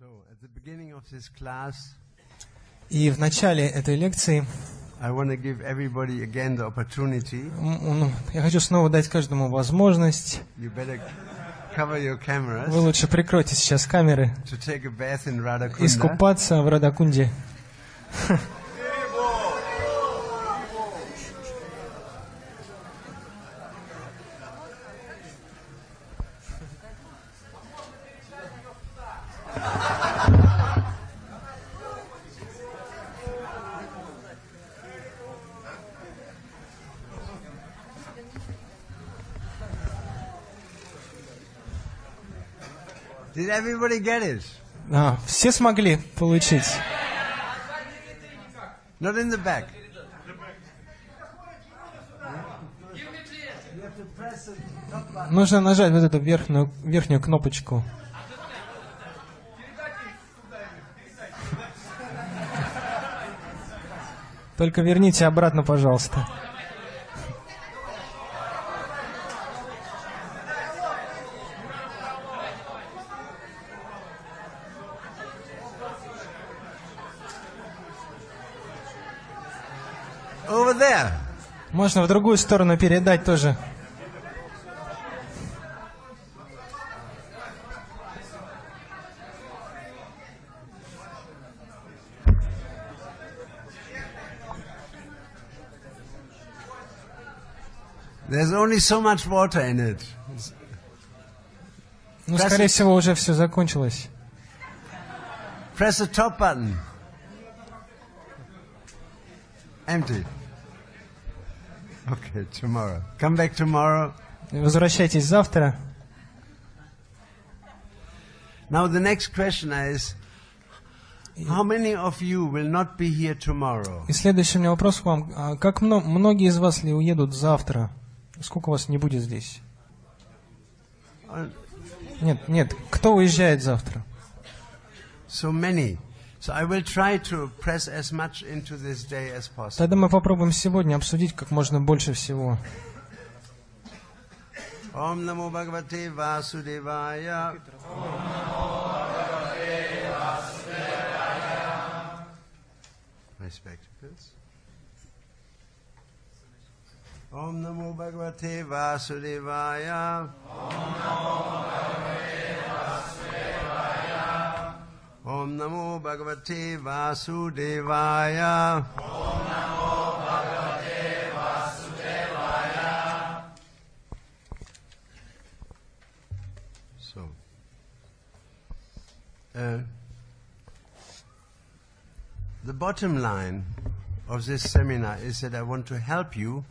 И в начале этой лекции я хочу снова дать каждому возможность. Вы лучше прикройте сейчас камеры. Искупаться в Радакунде. Did everybody get it? Все смогли получить? Not in the back. Нужно нажать вот эту верхнюю кнопочку. Только верните обратно, пожалуйста. Over there. Можно в другую сторону передать тоже. There's only so much water in it. Ну, скорее всего, уже все закончилось. Press the top button. Empty. Okay, tomorrow. Come back tomorrow. Возвращайтесь завтра. Now the next question is, how many of you will not be here tomorrow? И следующий у меня вопрос к вам. Как многие из вас ли уедут завтра? Сколько вас не будет здесь? Нет. Кто уезжает завтра? So many. So I will try to press as much into this day as possible. Тогда мы попробуем сегодня обсудить как можно больше всего. Om Namo Bhagavate Vasudevaya. Om Namo Bhagavate Vasudevaya. My spectacles. Om Namo Bhagavate Vasudevaya. Om Namo Bhagavate Vasudevaya. Om Namo Bhagavate Vasudevaya. Om Namo Bhagavate Vasudevaya. So, the bottom line of this seminar is that I want to help you.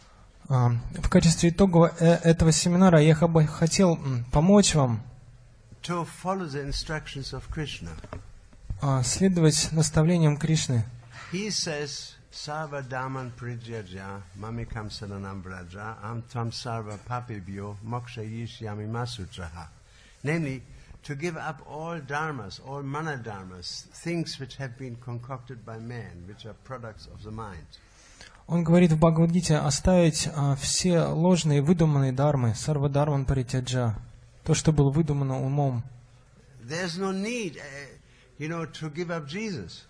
В качестве итога этого семинара я бы хотел помочь вам to follow the instructions of Krishna. Следовать наставлениям Кришны. He says, Sarva Dhamman Prijajya Mamikam Saranam Vraja Am Tam Sarva Papibhyo Moksha Yishyami Masutraha. Namely, to give up all dharmas, all manadharmas, things which have been concocted by man, which are products of the mind. Он говорит в Бхагавад-гите оставить все ложные, выдуманные дharмы, сарва дharman паритяджа, то, что было выдумано умом. There's no need, to give up Jesus.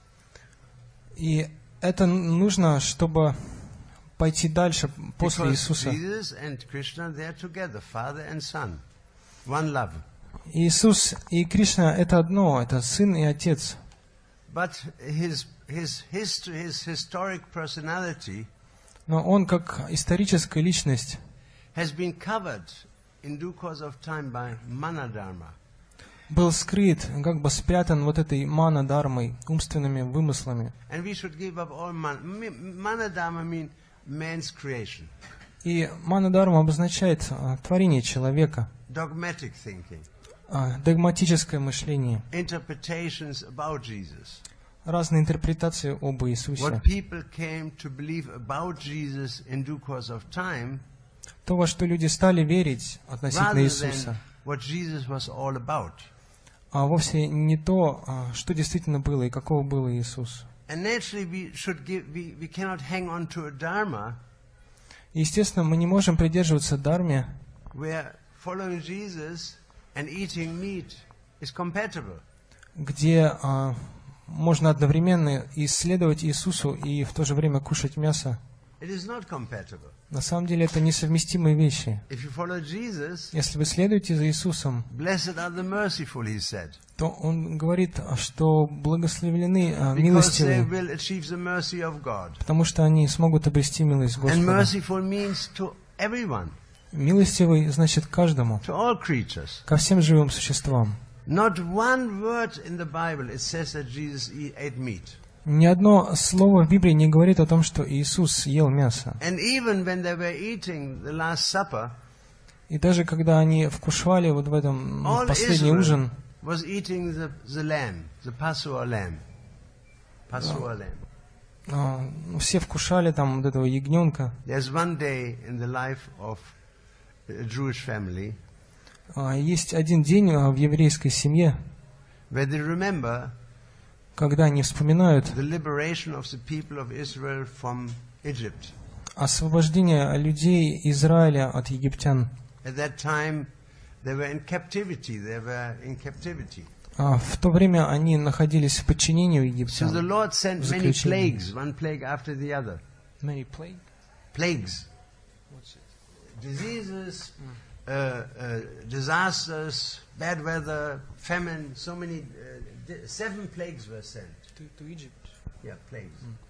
И это нужно, чтобы пойти дальше после Because Иисуса. Jesus and Krishna, they are together, Father and Son, one love. Иисус и Кришна — это одно, это Сын и Отец. But his history, his historic personality, но он, как историческая личность, has been covered in due course of time by manadharma. был скрыт, как бы спрятан вот этой мана-дharмой, умственными вымыслами. And we should give up all manadharma mean man's creation. И мана-дharma обозначает творение человека. Dogmatic thinking. Догматическое мышление. Interpretations about Jesus. Разные интерпретации об Иисусе. What people came to believe about Jesus in due course of time, то, во что люди стали верить относительно Иисуса, what Jesus was all about. А вовсе не то, что действительно было и какого был Иисус. And naturally we cannot hang on to a dharma. Естественно, мы не можем придерживаться дharме, where following Jesus and eating meat is compatible. где можно одновременно исследовать Иисусу и в то же время кушать мясо. It is not compatible. На самом деле это несовместимые вещи. If you follow Jesus, Если вы следуете за Иисусом, blessed are the merciful, he said, то Он говорит, что благословлены because they милостивые, will achieve the mercy of God. потому что они смогут обрести милость And Господа. merciful means to everyone, Милостивый значит каждому, to all creatures. ко всем живым существам. Not one word in the Bible it says that Jesus ate meat. Ни одно слово в Библии не говорит о том, что Иисус ел мясо. And even when they were eating the Last Supper, И даже когда они вкушали вот в этом all последний Israel ужин, was eating the lamb, the Passover lamb. Passover lamb. все вкушали там вот этого ягненка. There's one day in the life of a Jewish family Есть один день в еврейской семье, where they remember когда они вспоминают the liberation of the people of Israel from Egypt. освобождение людей Израиля от египтян. At that time, they were in captivity. They were in captivity. В то время они находились в подчинении у So the египтян. Lord sent many Заключение. plagues, one plague after the other. Plagues. Diseases, disasters, bad weather, famine, so many, 7 plagues were sent. Yeah, plagues.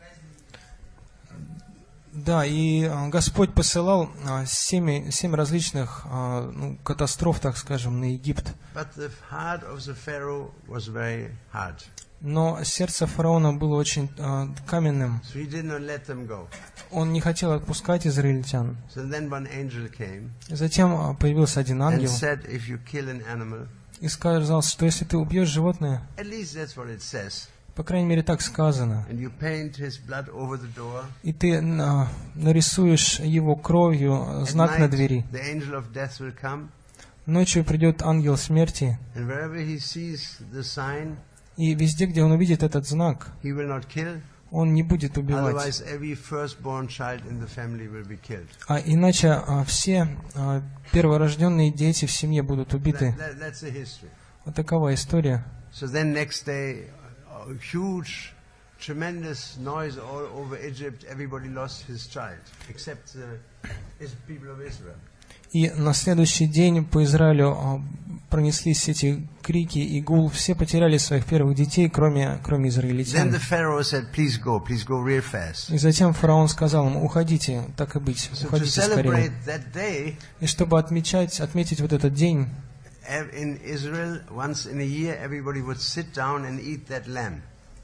Да, и Господь посылал 7 различных катастроф, так скажем, на Египет. But the heart of the Pharaoh was very hard. Но сердце фараона было очень каменным. So he did not let them go. Он не хотел отпускать израильтян. So then one angel came Затем появился один and ангел said, if you kill an animal, и сказал, что если ты убьешь животное, at least that's what it says, по крайней мере так сказано, and you paint his blood over the door, и ты нарисуешь его кровью at знак на night двери, the angel of death will come, ночью придет ангел смерти, and wherever he sees the sign, и везде, где он увидит этот знак, he will not kill, он не будет убивать. otherwise every firstborn child in the family will be killed. Иначе все перворожденные дети в семье будут убиты. That's the history. Вот такова история. So then next day, a huge, tremendous noise all over Egypt. Everybody lost his child, except the people of Israel. И на следующий день по Израилю пронеслись эти крики и гул. Все потеряли своих первых детей, кроме Then израильтян. the Pharaoh said, please go real fast. И затем фараон сказал им, уходите, так и быть, So to уходите скорее. celebrate that day, И чтобы отметить вот этот день, in Israel, once in a year, everybody would sit down and eat that lamb.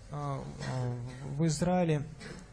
в Израиле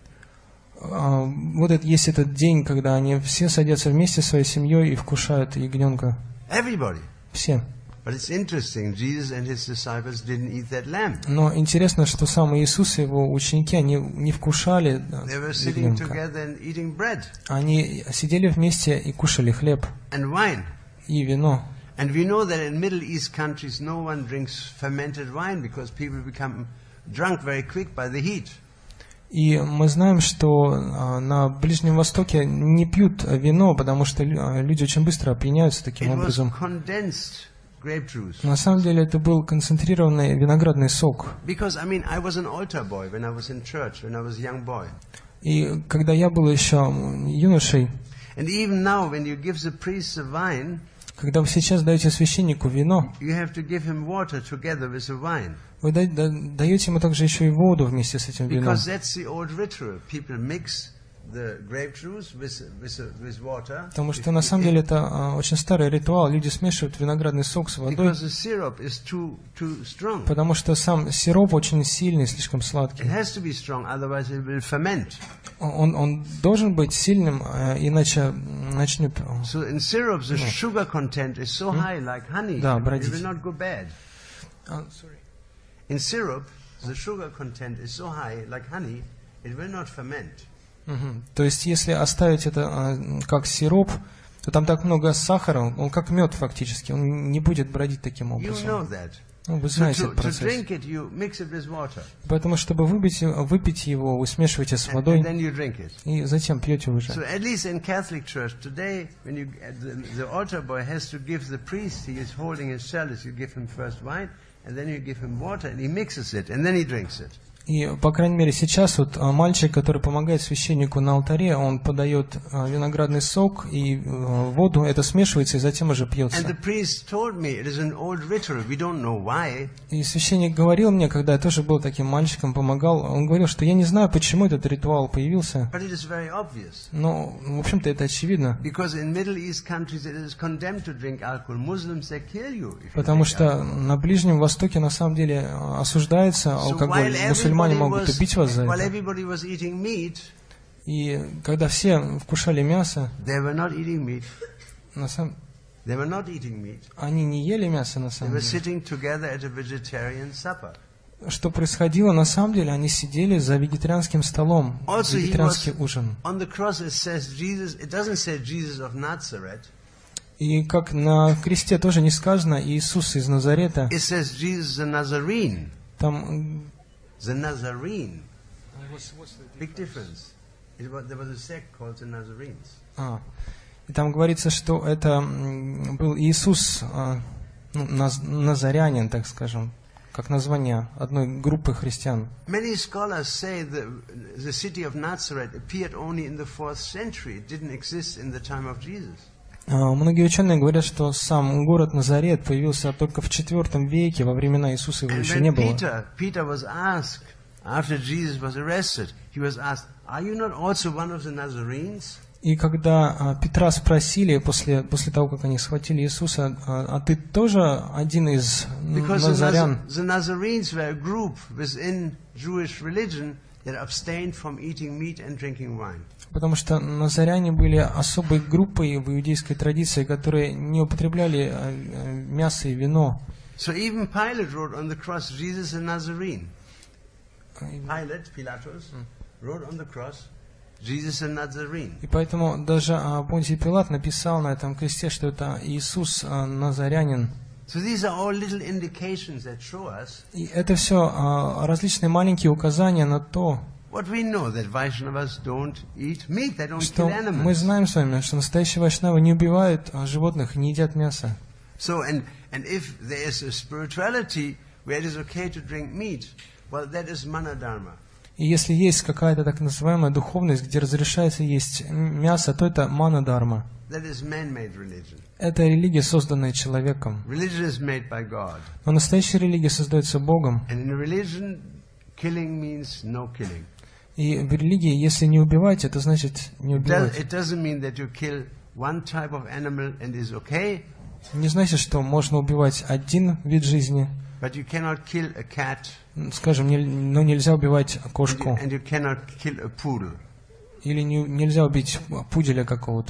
вот есть этот день, когда они все садятся вместе со своей семьей и вкушают ягненка. Everybody. Все. But it's interesting, Jesus and his disciples didn't eat that lamb. Но интересно, что сам Иисус и его ученики, они не вкушали They were sitting ягненка. together and eating bread Они сидели вместе и кушали хлеб and wine. и вино. And we know that in Middle East countries no one drinks fermented wine because people become drunk very quick by the heat. И мы знаем, что на Ближнем Востоке не пьют вино, потому что люди очень быстро опьяняются таким It was образом. condensed grape juice. На самом деле это был концентрированный виноградный сок. Because, I was an altar boy when I was in church, when I was a young boy. И когда я был еще юношей, And even now, when you give the priest the wine, когда вы сейчас даете священнику вино, you have to give him water together with the wine. вы даете ему также еще и воду вместе с этим вином. Because that's the old ritual. People mix the grape juice with water. Потому что на самом деле это очень старый ритуал. Люди смешивают виноградный сок с водой, Because the syrup is too strong. потому что сам сироп очень сильный, слишком It сладкий. has to be strong, otherwise it will ferment. Он должен быть сильным, иначе начнет... So in syrup, the sugar content is so high, like honey. Да, It бродить. will not go bad. In syrup, the sugar content is so high, like honey, it will not ferment. Мгм. То есть, если оставить это как сироп, то там так много сахара, он как мед фактически, он не будет бродить таким You образом. know that. Ну, вы So знаете to этот процесс. drink it, you mix it with water. Поэтому, чтобы выпить его, вы смешиваете с And водой, then you drink it. и затем пьете уже. So at least in Catholic Church today, when the altar boy has to give the priest, he is holding his chalice, you give him first wine, and then you give him water, and he mixes it, and then he drinks it. И, по крайней мере, сейчас вот мальчик, который помогает священнику на алтаре, он подает виноградный сок и воду, это смешивается и затем уже пьется. And the priest told me it is an old ritual. We don't know why. И священник говорил мне, когда я тоже был таким мальчиком, помогал, он говорил, что я не знаю, почему этот ритуал появился, But it is very obvious. но, в общем-то, это очевидно. Because in Middle East countries it is condemned to drink alcohol. Muslims, they kill you if you Потому drink что alcohol. на Ближнем Востоке на самом деле осуждается алкоголь. Мусульмане могут убить вас за while это. everybody was eating meat, И когда все вкушали мясо, they were not eating meat. на самом... They were not eating meat. они не ели мясо на They самом were деле. sitting together at a vegetarian supper. Что происходило на самом деле? Они сидели за вегетарианским столом, Also, he вегетарианский was ужин. on the cross. It says Jesus. It doesn't say Jesus of Nazareth. И как на кресте тоже не сказано Иисус из Назарета, It says Jesus the Nazarene. там... The Nazarene. Big difference. There was a sect called the Nazarenes. И там говорится, что это был Иисус, назарянин, так скажем, как название одной группы христиан. Many scholars say the city of Nazareth appeared only in the 4th century. It didn't exist in the time of Jesus. Многие ученые говорят, что сам город Назарет появился только в IV веке, во времена Иисуса его And еще не when было. Peter was asked, after Jesus was arrested, he was asked, "Are you not also one of the Nazarenes?" И когда Петра спросили после того, как они схватили Иисуса, а ты тоже один из Because назарян? the Nazarenes were a group within Jewish religion that abstained from eating meat and drinking wine. Потому что назаряне были особой группой в иудейской традиции, которые не употребляли мясо и вино. So even Pilate wrote on the cross, Jesus a Nazarene. Pilatus, wrote on the cross, Jesus a Nazarene. И поэтому даже Понтий Пилат написал на этом кресте, что это Иисус назарянин. So these are all little indications that show us И это все различные маленькие указания на то, what we know, that Vaishnavas don't eat meat, they don't что kill мы animals. знаем с вами, что настоящие вайшнавы не убивают животных и не едят мясо. So, and if there is a spirituality where it is okay to drink meat, well, that is manadharma. И если есть какая-то так называемая духовность, где разрешается есть мясо, то это мана-дарма. That is man-made religion. Это религия, созданная человеком. Religion is made by God. Но настоящая религия создается Богом. And in religion, killing means no killing. И в религии, если не убивать, это значит не убивать. It doesn't mean that you kill one type of animal and is okay, Не значит, что можно убивать один вид жизни, but you cannot kill a cat скажем, но нельзя убивать кошку. and you cannot kill a poodle. Или нельзя убить пуделя какого-то.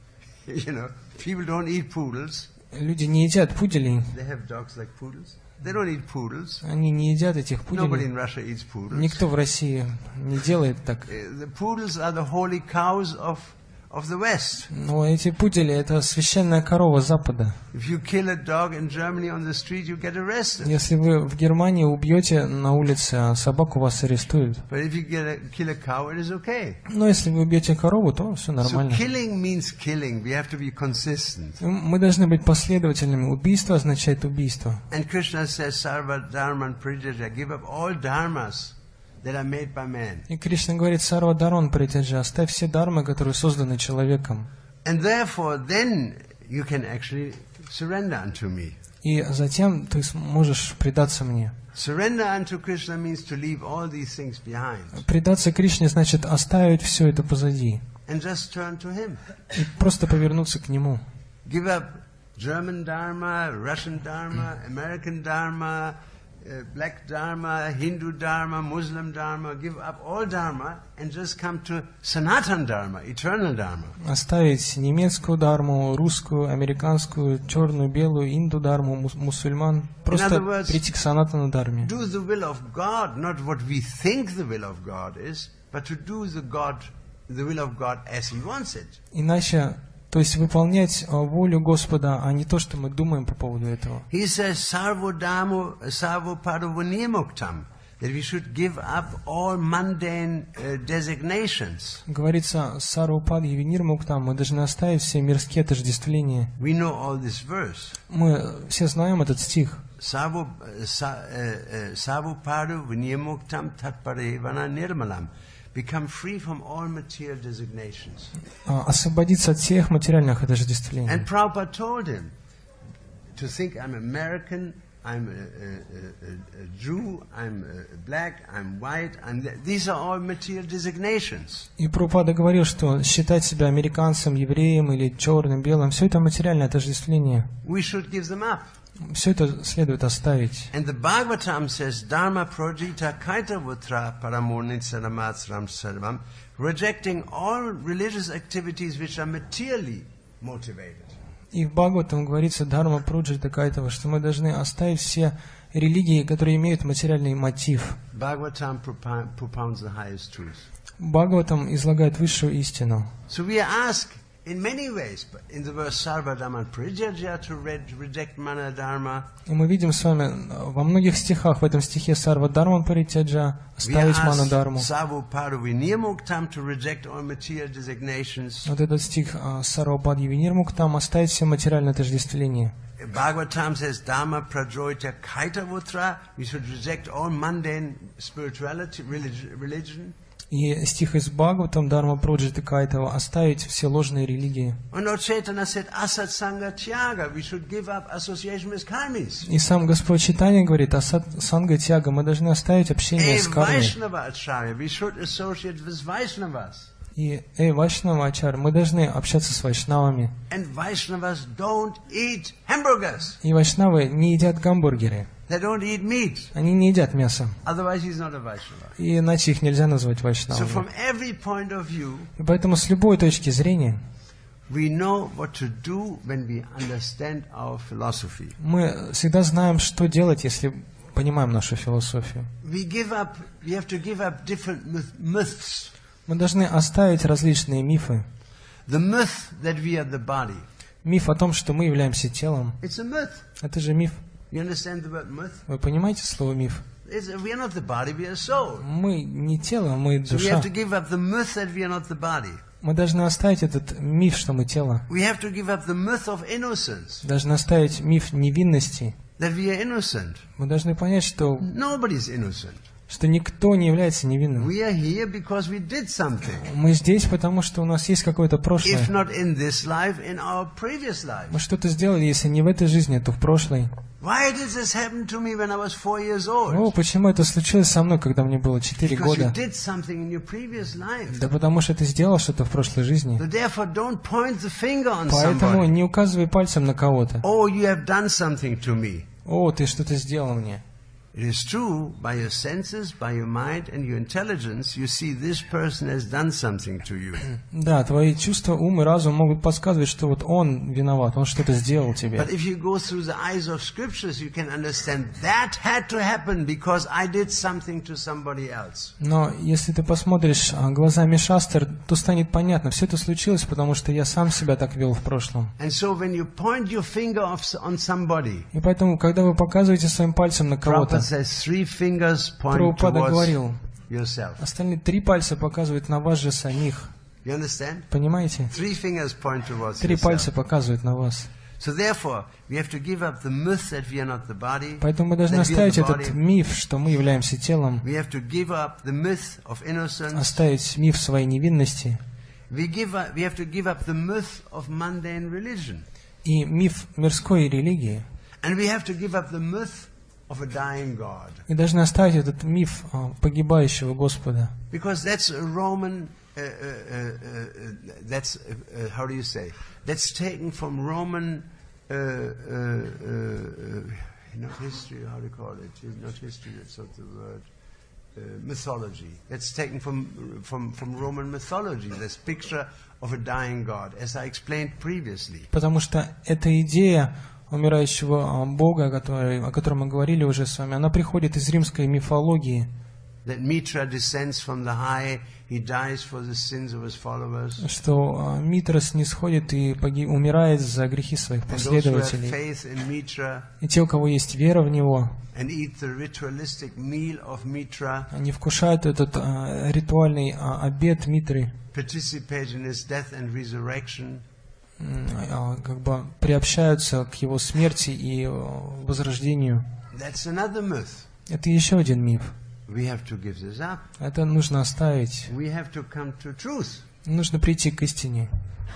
You know, people don't eat poodles. Люди не едят пуделей. They have dogs like poodles. They don't eat poodles. Они не едят этих Nobody пуделей. in Russia eats poodles. Никто в России не делает так. The poodles are the holy cows of the West. Но эти пудели — это священная корова Запада. If you kill a dog in Germany on the street, you get arrested. Если вы в Германии убьете на улице собаку, вас арестуют. But if you kill a cow, it is okay. Но если вы убьете корову, то все So нормально. killing means killing. We have to be consistent. Мы должны быть последовательными. Убийство означает убийство. And Krishna says, Sarva Dharman Parityajya, give up all dharmas that are made by man. И Кришна говорит: Сарва Дарман Паритяджа, оставь все дармы, которые созданы человеком. And therefore, then you can actually surrender unto me. И затем ты сможешь предаться мне. Surrender unto Krishna means to leave all these things behind Предаться Кришне значит оставить все это позади and just turn to Him. и просто повернуться к Нему. Give up German Dharma, Russian Dharma, American Dharma, Black Dharma, Hindu Dharma, Muslim Dharma. Give up all Dharma and just come to Sanatan Dharma, eternal Dharma. Оставить немецкую дарму, русскую, американскую, черную, белую, инду дарму, мусульман. Просто words, прийти к санатану дарме. Do the will of God, not what we think the will of God is, but to do the will of God as He wants it. Иначе, то есть выполнять волю Господа, а не то, что мы думаем по поводу этого. He says, Sarvo Dhammo, Sarvo Padavunimuktam, that we should give up all mundane designations. Говорится, Сарвапад Евинир Муктам, мы должны оставить все мирские отождествления. We know all this verse. Мы все знаем этот стих. Sarvopadu Vinyamuktam Tatparevana Nirmalam. Become free from all material designations. Освободиться от всех материальных отождествлений. And Prabhupada told him to think I'm American, I'm a Jew, I'm black, I'm white, these are all material designations. И Прабхупада говорил, что считать себя американцем, евреем или черным, белым, все это материальное отождествление. We should give them up. Все это следует оставить. And the Bhagavatam says, Dharma projita kaitavutra paramonitsaramatsram sarvam, rejecting all religious activities which are materially motivated. И в Бхагаватам говорится, Дхарма Пруджита Кайтава, что мы должны оставить все религии, которые имеют материальный мотив. Bhagavatam propounds the highest truth. Бхагаватам излагает высшую истину. So we are asked in many ways, but in the verse Sarva Dhamman Parityajya to reject Mana Dharma. И мы видим с вами во многих стихах, в этом стихе Сарва Дharman Паритяджа, оставить Ману Дharmu. To reject all material designations. Вот этот стих Сарва Падьи Винирмуктам, оставить все материальное отождествление. Bhagavatam says Dharma Prajoita Kaitavutra, we should reject all mundane spirituality, religion. И стих из Бхагаватам, Дharma Праджита Кайтава, оставить все ложные религии. И сам Господь Чайтанья говорит, асат санга тяга, мы должны оставить общение с кармой. И Вайшнава Ачар, мы должны общаться с вайшнавами. И вайшнавы не едят гамбургеры. They don't eat meat. Они не едят мясо. Otherwise he's not a Vaishnava. И иначе их нельзя назвать вайшнавами. So from every point of view, и поэтому с любой точки зрения we know what to do when we understand our philosophy. Мы всегда знаем, что делать, если понимаем нашу философию. We have to give up different myths. Мы должны оставить различные мифы. The myth that we are the body. Миф о том, что мы являемся телом. It's a myth. Это же миф. You understand the word myth? Вы понимаете слово миф? We are not the body, we are soul. Мы не тело, мы душа. So we have to give up the myth that we are not the body. Мы должны оставить этот миф, что мы тело. We have to give up the myth of innocence. Должны оставить миф невинности. That we are innocent. Мы должны понять, что nobody is innocent. Что никто не является невинным. We are here because we did something. Мы здесь, потому что у нас есть какое-то прошлое. If not in this life, in our previous life. Мы что-то сделали, если не в этой жизни, то в прошлой. Why did this happen to me when I was 4 years old? О, почему это случилось со мной, когда мне было 4 года? Because you did something in your previous life. Да потому что ты сделал что-то в прошлой жизни. So therefore, don't point the finger on Поэтому somebody. не указывай пальцем на кого-то. Oh, you have done something to me. О, ты что-то сделал мне. It is true, by your senses, by your mind and your intelligence, you see this person has done something to you. Да, твои чувства, ум и разум могут подсказывать, что вот он виноват, он что-то сделал тебе. But if you go through the eyes of scriptures, you can understand that had to happen because I did something to somebody else. Но если ты посмотришь глазами шастр, то станет понятно, все это случилось, потому что я сам себя так вел в прошлом. And so when you point your finger on somebody, и поэтому, когда вы показываете своим пальцем на кого-то, Прабхупада говорил, остальные 3 пальца показывают на вас же самих. Понимаете? 3 пальца показывают на вас. Поэтому мы должны оставить этот миф, что мы являемся телом, оставить миф своей невинности и миф мирской религии. И должны оставить этот миф погибающего Господа. Because that's a Roman, that's how do you say? That's taken from Roman, not history. How do you call it? Not history. That's not the word. Mythology. That's taken from Roman mythology. This picture of a dying God, as I explained previously. Потому что эта идея умирающего Бога, о котором мы говорили уже с вами, она приходит из римской мифологии. Что Митра снисходит и умирает за грехи своих последователей. И те, у кого есть вера в него, они вкушают этот ритуальный обед Митры. как бы приобщаются к его смерти и возрождению. That's another myth. Это еще один миф. We have to give this up. Это нужно оставить. We have to come to truth. Нужно прийти к истине.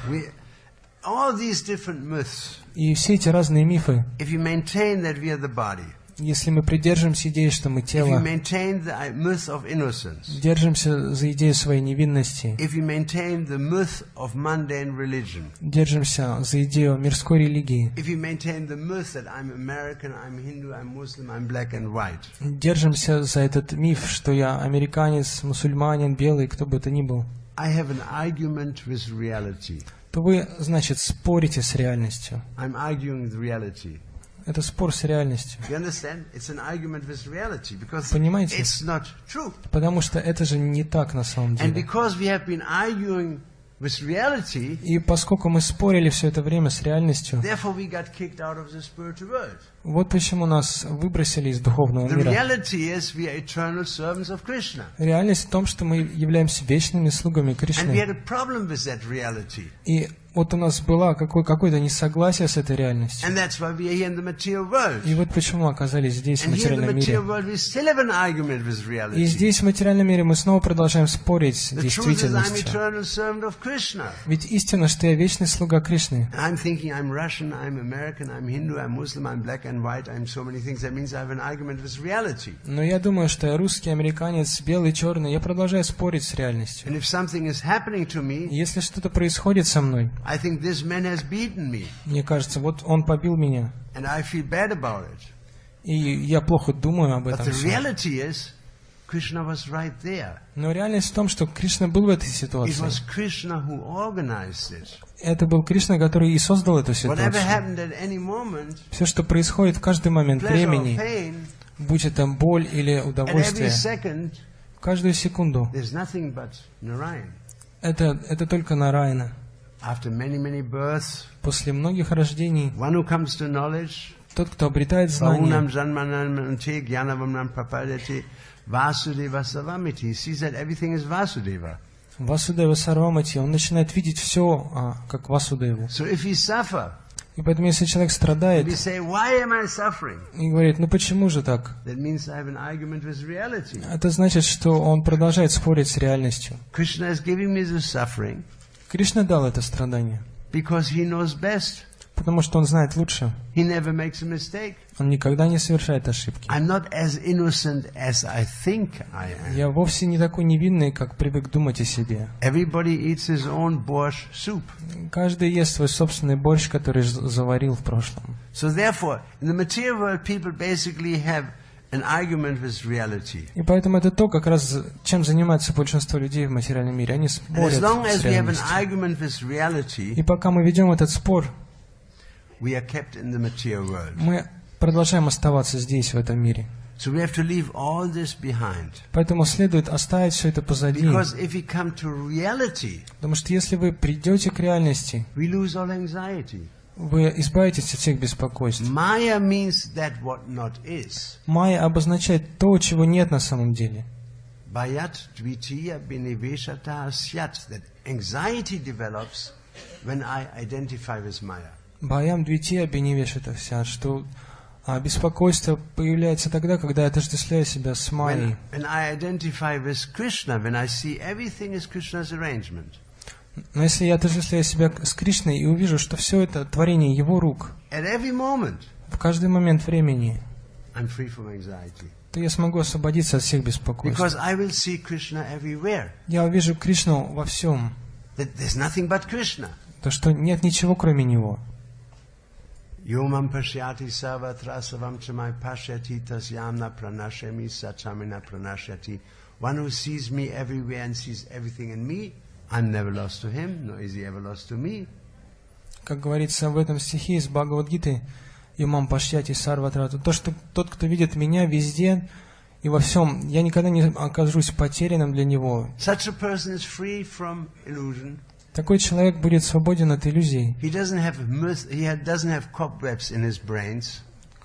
All these different myths. И все эти разные мифы, If you maintain that we are the body, если мы придержимся идеи, что мы if you тело, maintain the myth of innocence, держимся за идею своей невинности, if you maintain the myth of mundane religion, держимся за идею мирской религии, if you maintain the myth that I'm American, I'm Hindu, I'm Muslim, I'm black and white, держимся за этот миф, что я американец, мусульманин, белый, кто бы это ни был, I have an argument with reality. то вы, значит, спорите с реальностью. I'm arguing with reality. Это спор с реальностью. You understand? It's an argument with reality because Понимаете? it's not true. Потому что это же не так на самом And деле. because we have been arguing with reality, И поскольку мы спорили все это время с реальностью, therefore we got kicked out of the spiritual world. вот почему нас выбросили из духовного The мира. reality is we are eternal servants of Krishna. Реальность в том, что мы являемся вечными слугами And we Кришны. had a problem with that reality. И вот у нас было какое-то несогласие с этой реальностью. And that's why we are here in the material world. И вот почему мы оказались здесь, в And here in the материальном мире. material world we still have an argument with И reality. здесь, в материальном мире, мы снова продолжаем спорить с The truth is I'm действительностью. eternal servant of Krishna. Ведь истина, что я вечный слуга Кришны. And I'm thinking I'm Russian, I'm American, I'm Hindu, I'm Muslim, I'm black and white, I'm so many things. That means I have an argument with reality. Но я думаю, что я русский, американец, белый, черный. Я продолжаю спорить с реальностью. And if something is happening to me, И если что-то происходит со мной, I think this man has beaten me. мне кажется, вот он побил меня. And I feel bad about it. И я плохо думаю об But этом the всем. reality is, Krishna was right there. Но реальность в том, что Кришна был в этой It ситуации. was Krishna who organized it. Это был Кришна, который и создал эту Whatever ситуацию. happened at any moment, Все, что происходит в каждый момент pleasure or времени, pain, будь это боль или at every удовольствие, second, в каждую секунду, there's nothing but Narayan. это только Нараяна. After many, many births, После многих рождений, one who comes to knowledge, тот, кто обретает Bahunam знания, Janmanam Ante Gyanavamnam Prapadati Vasudeva Savamiti, sees that everything is Vasudeva. Васудева Сарвамати, он начинает видеть все как Васудеву. So if we suffer, И поэтому, если человек страдает we say, why am I suffering? и говорит, ну почему же так? That means I have an argument with reality. Это значит, что он продолжает спорить с реальностью. Krishna is giving me the suffering Кришна дал это страдание, because he knows best. потому что он знает лучше. He never makes a mistake. Он никогда не совершает ошибки. I'm not as innocent as I think I am. Я вовсе не такой невинный, как привык думать о себе. Everybody eats his own borscht soup. Каждый ест свой собственный борщ, который заварил в прошлом. So therefore, in the material world, people basically have an argument with reality. И поэтому это то, как раз чем занимается большинство людей в материальном мире. Они And спорят as long as с we have an реальностью. argument with reality, И пока мы ведем этот спор, we are kept in the material world. мы продолжаем оставаться здесь, в этом мире. So we have to leave all this behind. Поэтому следует оставить все это позади. Because if we come to reality, Потому что если вы придете к реальности, we lose all anxiety. вы избавитесь от всех беспокойств. Maya means that what not is. Майя обозначает то, чего нет на самом деле. Bayat dvitiya biniveshata syat. That anxiety develops when I identify with Maya. Баям двити обиневеш это вся, что беспокойство появляется тогда, когда я отождествляю себя с Майей. When I identify with Krishna, when I see everything is Krishna's arrangement. Но если я отождествляю себя с Кришной и увижу, что все это творение Его рук, At every moment, в каждый момент времени, I'm free from anxiety. то я смогу освободиться от всех беспокойств. Because I will see Krishna everywhere. Я увижу Кришну во всем, That there's nothing but Krishna. то что нет ничего кроме Него. Yomam pashyati sarvatra savam chamai pashyati tasyamna pranashami sachamina pranashyati. One who sees me everywhere and sees everything in me, I'm never lost to him, nor is he ever lost to me. Как говорится в этом стихе из Бхагавад-гиты, Юмам Пашьяти Сарватрату, то, что тот, кто видит меня везде и во всем, я никогда не окажусь потерянным для него. Such a person is free from illusion. Такой человек будет свободен от иллюзий. He doesn't have doesn't have cobwebs in his brains.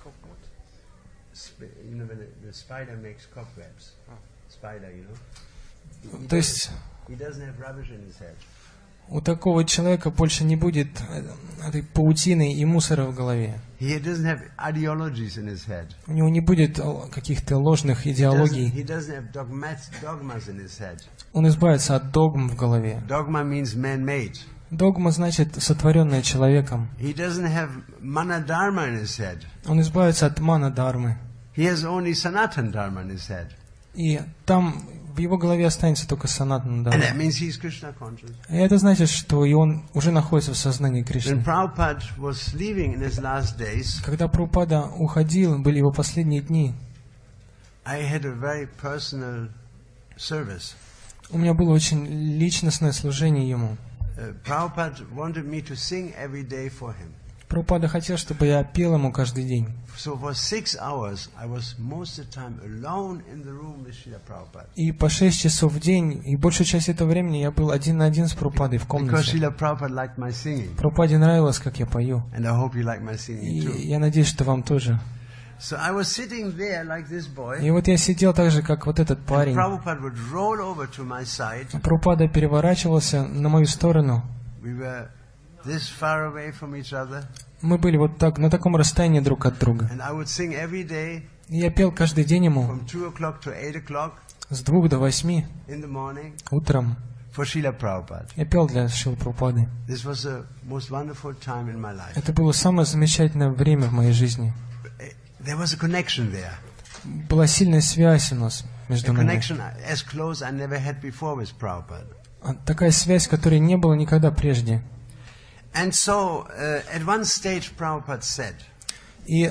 You know when the spider makes cobwebs. Spider, you know. То есть He doesn't have rubbish in his head. У такого человека больше не будет этой паутины и мусора в голове. He doesn't have ideologies in his head. У него не будет каких-то ложных идеологий. He doesn't have dogmas in his head. Он избавится от догм в голове. Dogma means man-made. Догма значит сотворенное человеком. He doesn't have mana-dharma in his head. Он избавится от мана-дharмы. He has only sanatan dharma in his head. И там в его голове останется только санатана And дхарма. that means he's Krishna conscious. И это значит, что и он уже находится в сознании Кришны. When Prabhupada was leaving in his last days, Когда Прабхупада уходил, были его последние дни, I had a very personal service. у меня было очень личностное служение ему. Prabhupada wanted me to sing every day for him. Прабхупада хотел, чтобы я пел ему каждый день. So for 6 hours, I was most of the time alone in the room with Srila Prabhupada. И по 6 часов в день, и большую часть этого времени я был один на один с Прабхупадой в Because комнате. Srila Prabhupada liked my singing. Прабхупаде нравилось, как я пою. And I hope you like my singing И too. я надеюсь, что вам тоже. So I was sitting there like this boy. И вот я сидел так же, как вот этот парень. Prabhupada would roll over to my side. Прабхупада переворачивался на мою сторону. We were this far away from each other. Мы были вот так, на таком расстоянии друг от друга. And I would sing every day И я пел каждый день ему from 2 o'clock to 8 o'clock с 2 до 8 in the morning утром. for Srila Prabhupada. Я пел для Шрилы Прабхупады. This was the most wonderful time in my life. Это было самое замечательное время в моей жизни. There was a connection there. Была сильная связь у нас A между нами. connection as close I never had before with Prabhupada. Такая связь, которой не было никогда прежде. And so, at one stage, Prabhupada said, И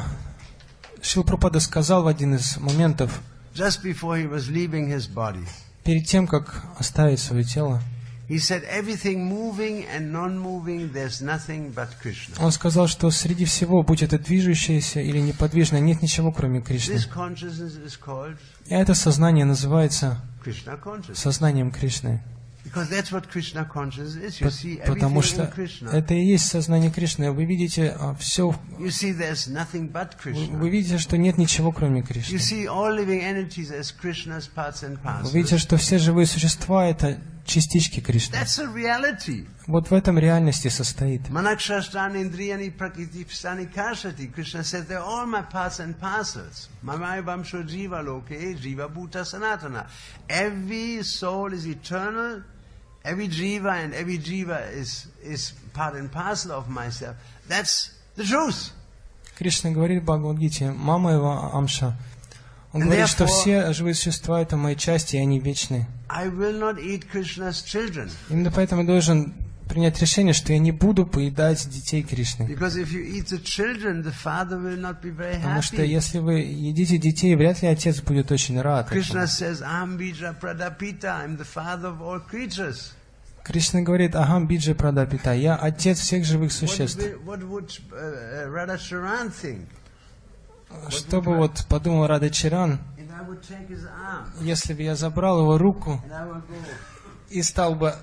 Шрила Прабхупада сказал в один из моментов, just before he was leaving his body, перед тем, как оставить свое тело, he said, everything moving and non-moving, there's nothing but Krishna. он сказал, что среди всего, будь это движущееся или неподвижное, нет ничего, кроме Кришны. This consciousness is called И это сознание называется Krishna consciousness. сознанием Кришны. Because that's what Krishna consciousness is. You see Потому everything in что Krishna. это и есть сознание Кришны. Вы видите все, You see there's nothing but вы Krishna. видите, что нет ничего, кроме You Кришны. see all living entities as Krishna's parts and Вы видите, parcels. что все живые существа — это частички Кришны. That's a reality. Вот в этом реальности состоит. Manakshashtani indriyani prakriti pstani karshati. Krishna said, they're all my parts and parcels. Mamai vamsho jiva loke, jiva bhuta sanatana. Every soul is eternal. Every jiva and every jiva is part and parcel of myself. That's the truth. Кришна говорит в Бхагавад-гите, мама его Амша. Он And говорит, что therefore- все живые существа — это мои части, и они вечны. I will not eat Krishna's children. Именно поэтому я должен принять решение, что я не буду поедать детей Кришны. Because if you eat the children, the father will not be very Потому что happy. если вы едите детей, вряд ли отец будет очень рад Krishna этому. says, Aham bija pradapita, I'm the father of all creatures. Кришна говорит, агам биджи прадапита, я отец всех живых существ. What would Radhacharan think? Что бы вот подумал Радачаран, If I would take his arm если бы я забрал его руку and I would go, и стал бы,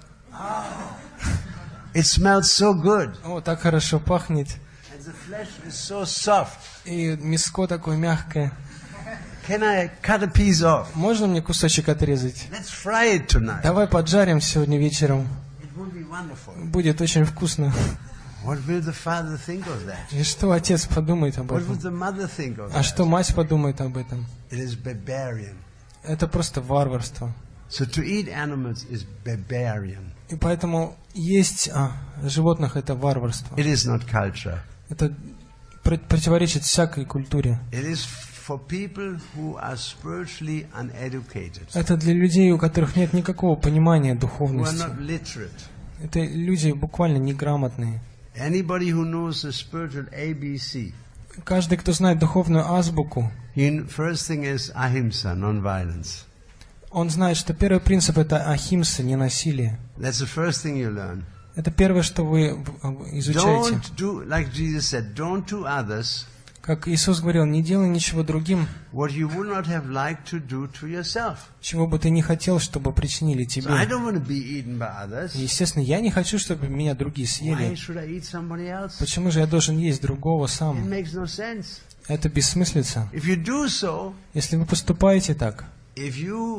it smells so good о, так хорошо пахнет, and the flesh is so soft. и мяско такое мягкое. Can I cut a piece off? Можно мне кусочек отрезать? Let's fry it tonight. Давай поджарим сегодня вечером. It would be wonderful. Будет очень вкусно. What will the father think of that? И что отец подумает об What would этом? the mother think of А that? что мать подумает об этом? It is barbarian. Это просто варварство. So to eat animals is barbarian. И поэтому есть животных — это варварство. It is not culture. Это противоречит всякой культуре. It is for people who are spiritually uneducated, Это для людей, у которых нет никакого понимания who are духовности. not literate. Это люди буквально неграмотные. Anybody who knows the spiritual ABC, Каждый, кто знает духовную азбуку, first thing is ahimsa, non-violence. он знает, что первый принцип — это ахимса, не насилие. That's the first thing you learn. Это первое, что вы изучаете. Don't do, like Jesus said, don't do others Как Иисус говорил, не делай ничего другим, what you would not have liked to do to yourself. чего бы ты не хотел, чтобы причинили So I тебе. don't want to be eaten by others. И, естественно, я не хочу, чтобы меня другие Why съели. should I eat somebody else? Почему же я должен есть другого It сам? makes no sense. Это бессмыслица. If you do so, Если вы поступаете так, if you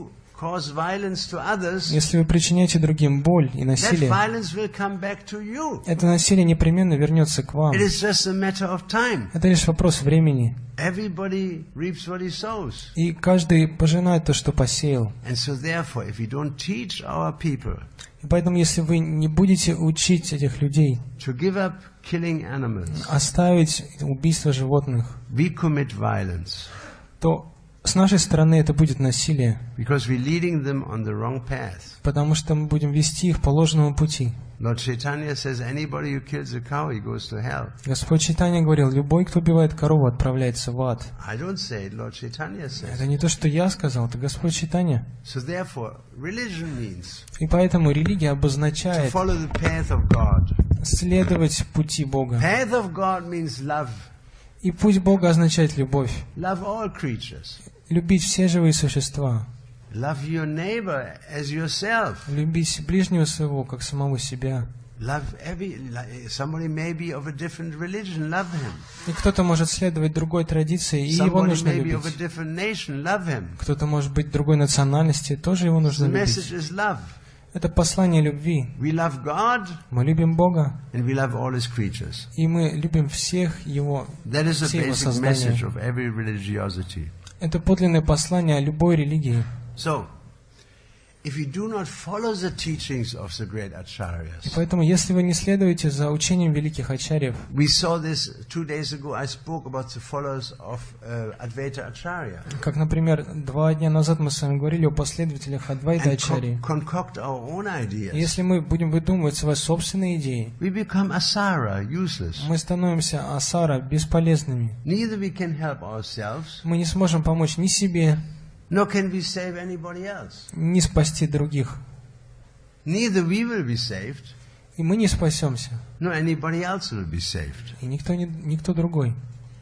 cause violence to others, Если вы причиняете другим боль и that насилие, violence will come back to you. это насилие непременно вернется к вам. It is just a matter of time. Это лишь вопрос времени. Everybody reaps what he sows. И каждый пожинает то, что посеял. And so therefore, if we don't teach our people И поэтому, если вы не будете учить этих людей to give up killing animals, оставить убийство животных, we commit violence то с нашей стороны это будет насилие, because we're leading them on the wrong path. потому что мы будем вести их по ложному пути. Lord Chaitanya says anybody who kills a cow, he goes to hell. Господь Чайтанья говорил, любой, кто убивает корову, отправляется в ад. I don't say it, Lord Chaitanya Это says. не то, что я сказал, это Господь Чайтанья. So therefore, religion means И поэтому религия to обозначает follow the path of God. следовать пути Бога. Path of God means love. И путь Бога означает любовь. Love all creatures. Любить все живые существа. Love your neighbor as yourself. Любить ближнего своего, как самого себя. Love somebody may be of a different religion, love him. И кто-то может следовать другой традиции, и его Somebody нужно may be of a любить. different nation, love him. Кто-то может быть другой национальности, тоже его нужно The любить. message is love. Это послание любви. We love God Мы любим Бога, and we love all his creatures. и мы любим всех Его, That is the все Его basic создания. message of every religiosity. Это подлинное послание любой религии. So, if you do not follow the teachings of the great И acharyas, поэтому, если вы не следуете за учением великих ачарьев, we saw this 2 days ago. I spoke about the followers of Advaita Acharya. как, например, 2 дня назад мы с вами говорили о последователях Адвайта And Ачарьи. concoct our own ideas. Если мы будем выдумывать свои собственные идеи, We become asara, useless. мы становимся асара, бесполезными. Neither we can help ourselves, Мы не сможем помочь ни себе, nor can we save anybody else. ни спасти других. Neither we will be saved, И мы не спасемся, nor anybody else will be saved. и никто другой.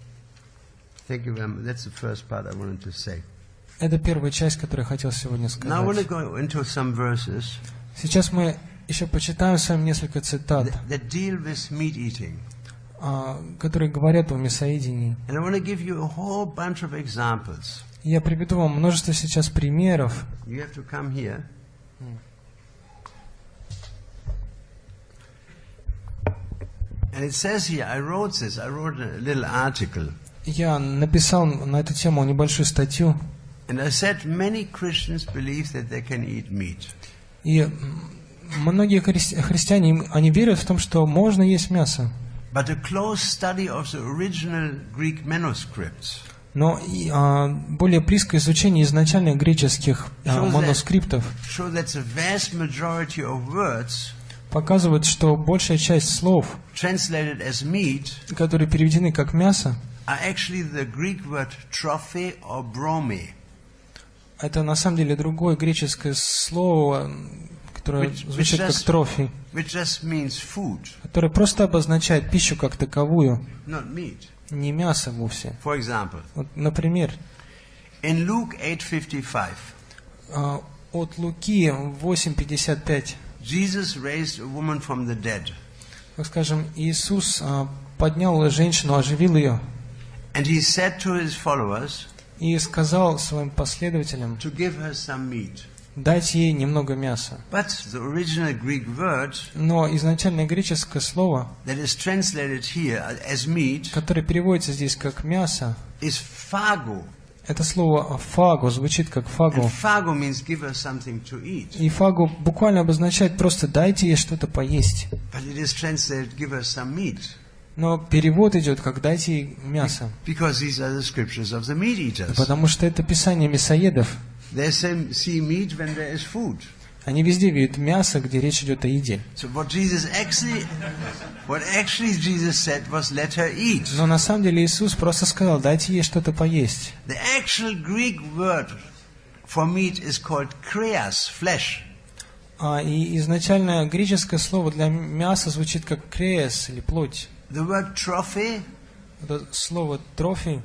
Thank you very much. That's the first part I wanted to say. Это первая часть, которую я хотел сегодня Now I want to сказать. go into some verses Сейчас мы еще почитаем с вами несколько цитат, that deal with meat eating. которые говорят о мясоедении. And I want to give you a whole bunch of examples. И я приведу вам множество сейчас примеров. You have to come here. And it says here, I wrote a little article. Я написал на эту тему небольшую статью, And I said many Christians believe that they can eat meat. и многие христиане, они верят в том, что можно есть мясо. But a close study of the original Greek manuscripts Но более близкое изучение изначальных греческих манускриптов show that the vast majority of words показывает, что большая часть слов, translated as meat, которые переведены как мясо, are actually the Greek word trophe or brome, это на самом деле другое греческое слово, которое Which звучит как just- трофи, which just means food, которое просто обозначает пищу как таковую, not meat. не мясо вовсе. For example, Вот, например, in Luke 8:55, от Луки 8:55, Jesus raised a woman from the dead, как скажем, Иисус поднял женщину, оживил ее and he said to his followers и сказал своим последователям, to give her some meat. дать ей немного мяса. But the original Greek word Но изначальное греческое слово, that is translated here as meat которое переводится здесь как мясо, is phago. это слово фаго, звучит как And фаго. phago means give her something to eat. И фаго буквально обозначает просто дайте ей что-то поесть. But it is translated give her some meat. Но перевод идет как дайте ей мясо. Because these are the scriptures of the meat eaters. Потому что это писание мясоедов. They see meat when there is food. Они везде видят мясо, где речь идет о еде. So what actually Jesus said was let her eat. Но на самом деле Иисус просто сказал, дайте ей что-то поесть. The actual Greek word for meat is called kreas, flesh. И изначально греческое слово для мяса звучит как креес или плоть. The word trophy, Это слово трофи,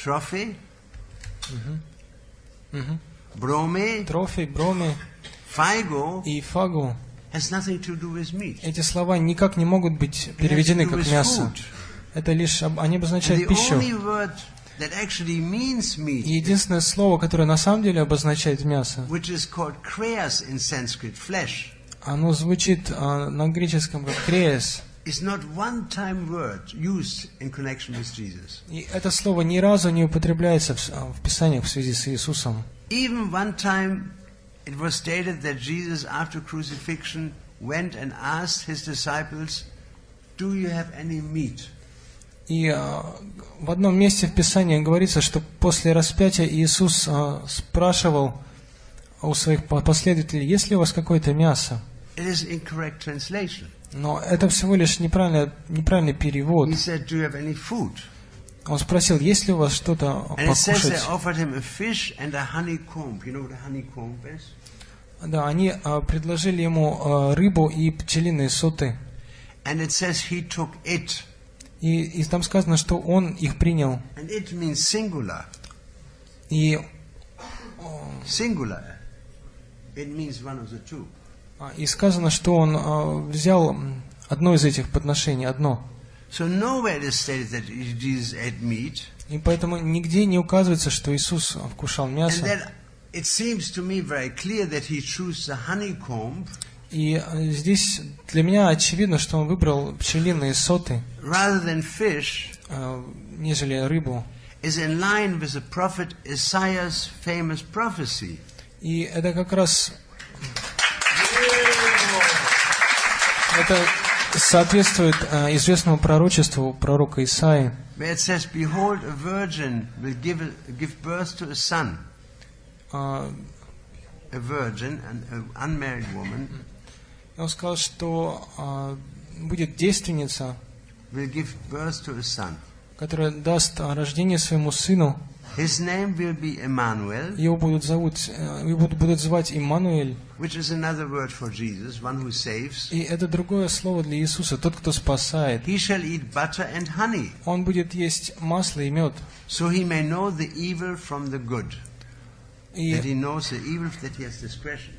brome, трофи, броми phago и фагу. has nothing to do with meat. Эти слова никак не могут быть It has to переведены do как with мясо. food. Это лишь они And обозначают the пищу. only word that actually means meat, И единственное слово, которое на самом деле обозначает мясо, which is called kreas in Sanskrit, flesh, оно звучит на греческом как креес. is not one-time word used in connection with Jesus. И это слово ни разу не употребляется в Писаниях в связи с Иисусом. Even one time it was stated that Jesus, after crucifixion, went and asked his disciples, "Do you have any meat?" И в одном месте в Писании говорится, что после распятия Иисус спрашивал у своих последователей, есть ли у вас какое-то мясо? It is incorrect translation. Но это всего лишь неправильный перевод. He said, "Do you have any food?" Он спросил, есть ли у вас что-то And it says they покушать? offered him a fish and a honeycomb. You know what a honeycomb is? Да, они предложили ему рыбу и пчелиные соты. And it says he took it. И там сказано, что он их принял. And it means singular. И Singular. It means one of the two. сказано, что он взял одно из этих подношений, одно. So nowhere it is stated that Jesus ate meat. И поэтому нигде не указывается, что Иисус вкушал And мясо. that it seems to me very clear that he chose the honeycomb И здесь для меня очевидно, что он выбрал пчелиные соты, rather than fish, нежели рыбу. is in line with the prophet Isaiah's famous prophecy. И это как раз это соответствует известному пророчеству пророка Исаии, Where it says, "Behold, a virgin will give birth to a son." A virgin, an unmarried woman, он сказал, что будет девственница, will give birth to a son. которая даст рождение своему сыну. His name will be Emmanuel, Его будут звать Иммануэль. which is another word for Jesus, one who saves. И это другое слово для Иисуса, тот, кто спасает. He shall eat butter and honey, Он будет есть масло и мед. so he may know the evil from the good. That he И knows the evil, that he has discretion.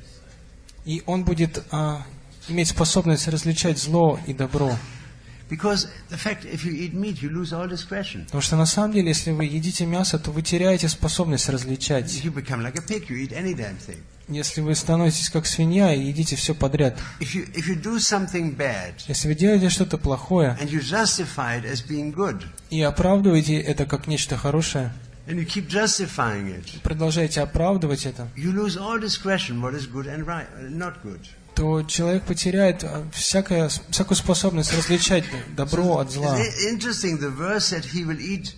он будет иметь способность различать зло и добро. Because the fact, if you eat meat, you lose all discretion. Потому что на самом деле, если вы едите мясо, то вы теряете способность различать. You become like a pig, you eat any damn thing. Если вы становитесь как свинья и едите все подряд. If you do something bad, Если вы делаете что-то плохое and you justify it as being good, и оправдываете это как нечто хорошее, and you keep justifying it, продолжаете оправдывать это, you lose all discretion what is good and right, not good. то человек потеряет всякую способность различать добро от зла. It's interesting, the verse said he will eat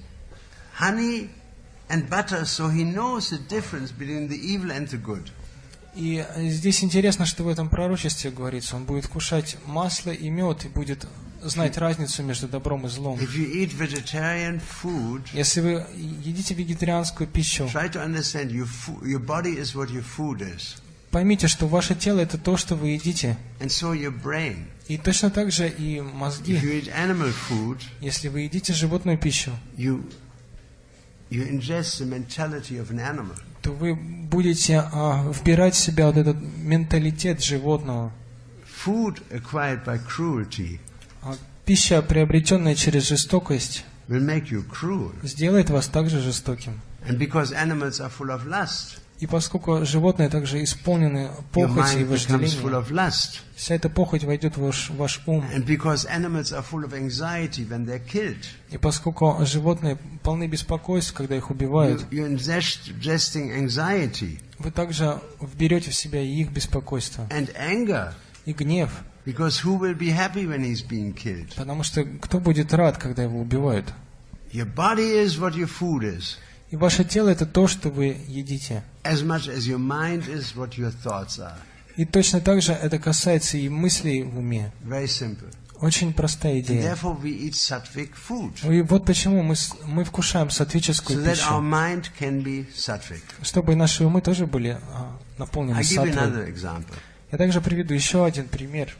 honey and butter, so he knows the difference between the evil and the good. И здесь интересно, что в этом пророчестве говорится, он будет кушать масло и мед и будет знать разницу между добром и злом. If you eat vegetarian food, Если вы едите вегетарианскую пищу, try to understand your body is what your food is, поймите, что ваше тело это то, что вы едите. and so your brain. И точно так же и If мозги. you eat animal food, Если вы едите животную пищу, you ingest the mentality of an animal. то вы будете вбирать в себя вот этот менталитет животного. Food acquired by cruelty Пища, приобретенная через жестокость, will make you cruel. сделает вас также жестоким. And because animals are full of lust, И поскольку животные также исполнены your похотью и mind becomes full вожделением, of lust. вся эта похоть войдет в ваш ум. And because animals are full of anxiety when they're killed, И поскольку животные полны беспокойств, когда их убивают, you're ingesting anxiety вы также вберете в себя и их беспокойство, and anger. и гнев. Because who will be happy when he's being killed? Потому что кто будет рад, когда его убивают? Your body is what your food is, И ваше тело это то, что вы едите. as much as your mind is what your thoughts are. И точно так же это касается и мыслей в уме. Very simple. Очень простая And идея. therefore we eat sattvic food, И вот почему мы вкушаем сатвическую so that our пищу, mind can be sattvic. чтобы наши умы тоже были наполнены I'll give you саттвой. another example. Я также приведу еще один пример.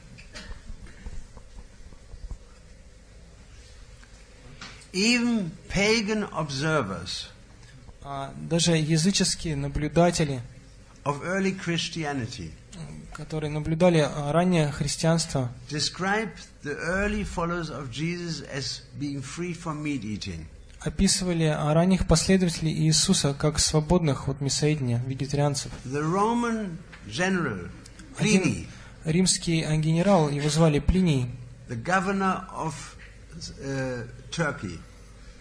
Even pagan observers Даже языческие наблюдатели, of early Christianity которые наблюдали раннее христианство, describe the early followers of Jesus as being free from meat eating. описывали ранних последователей Иисуса как свободных от мясоедения, вегетарианцев. The Roman general, Один Pliny, римский генерал, его звали Плиний, the governor of Turkey,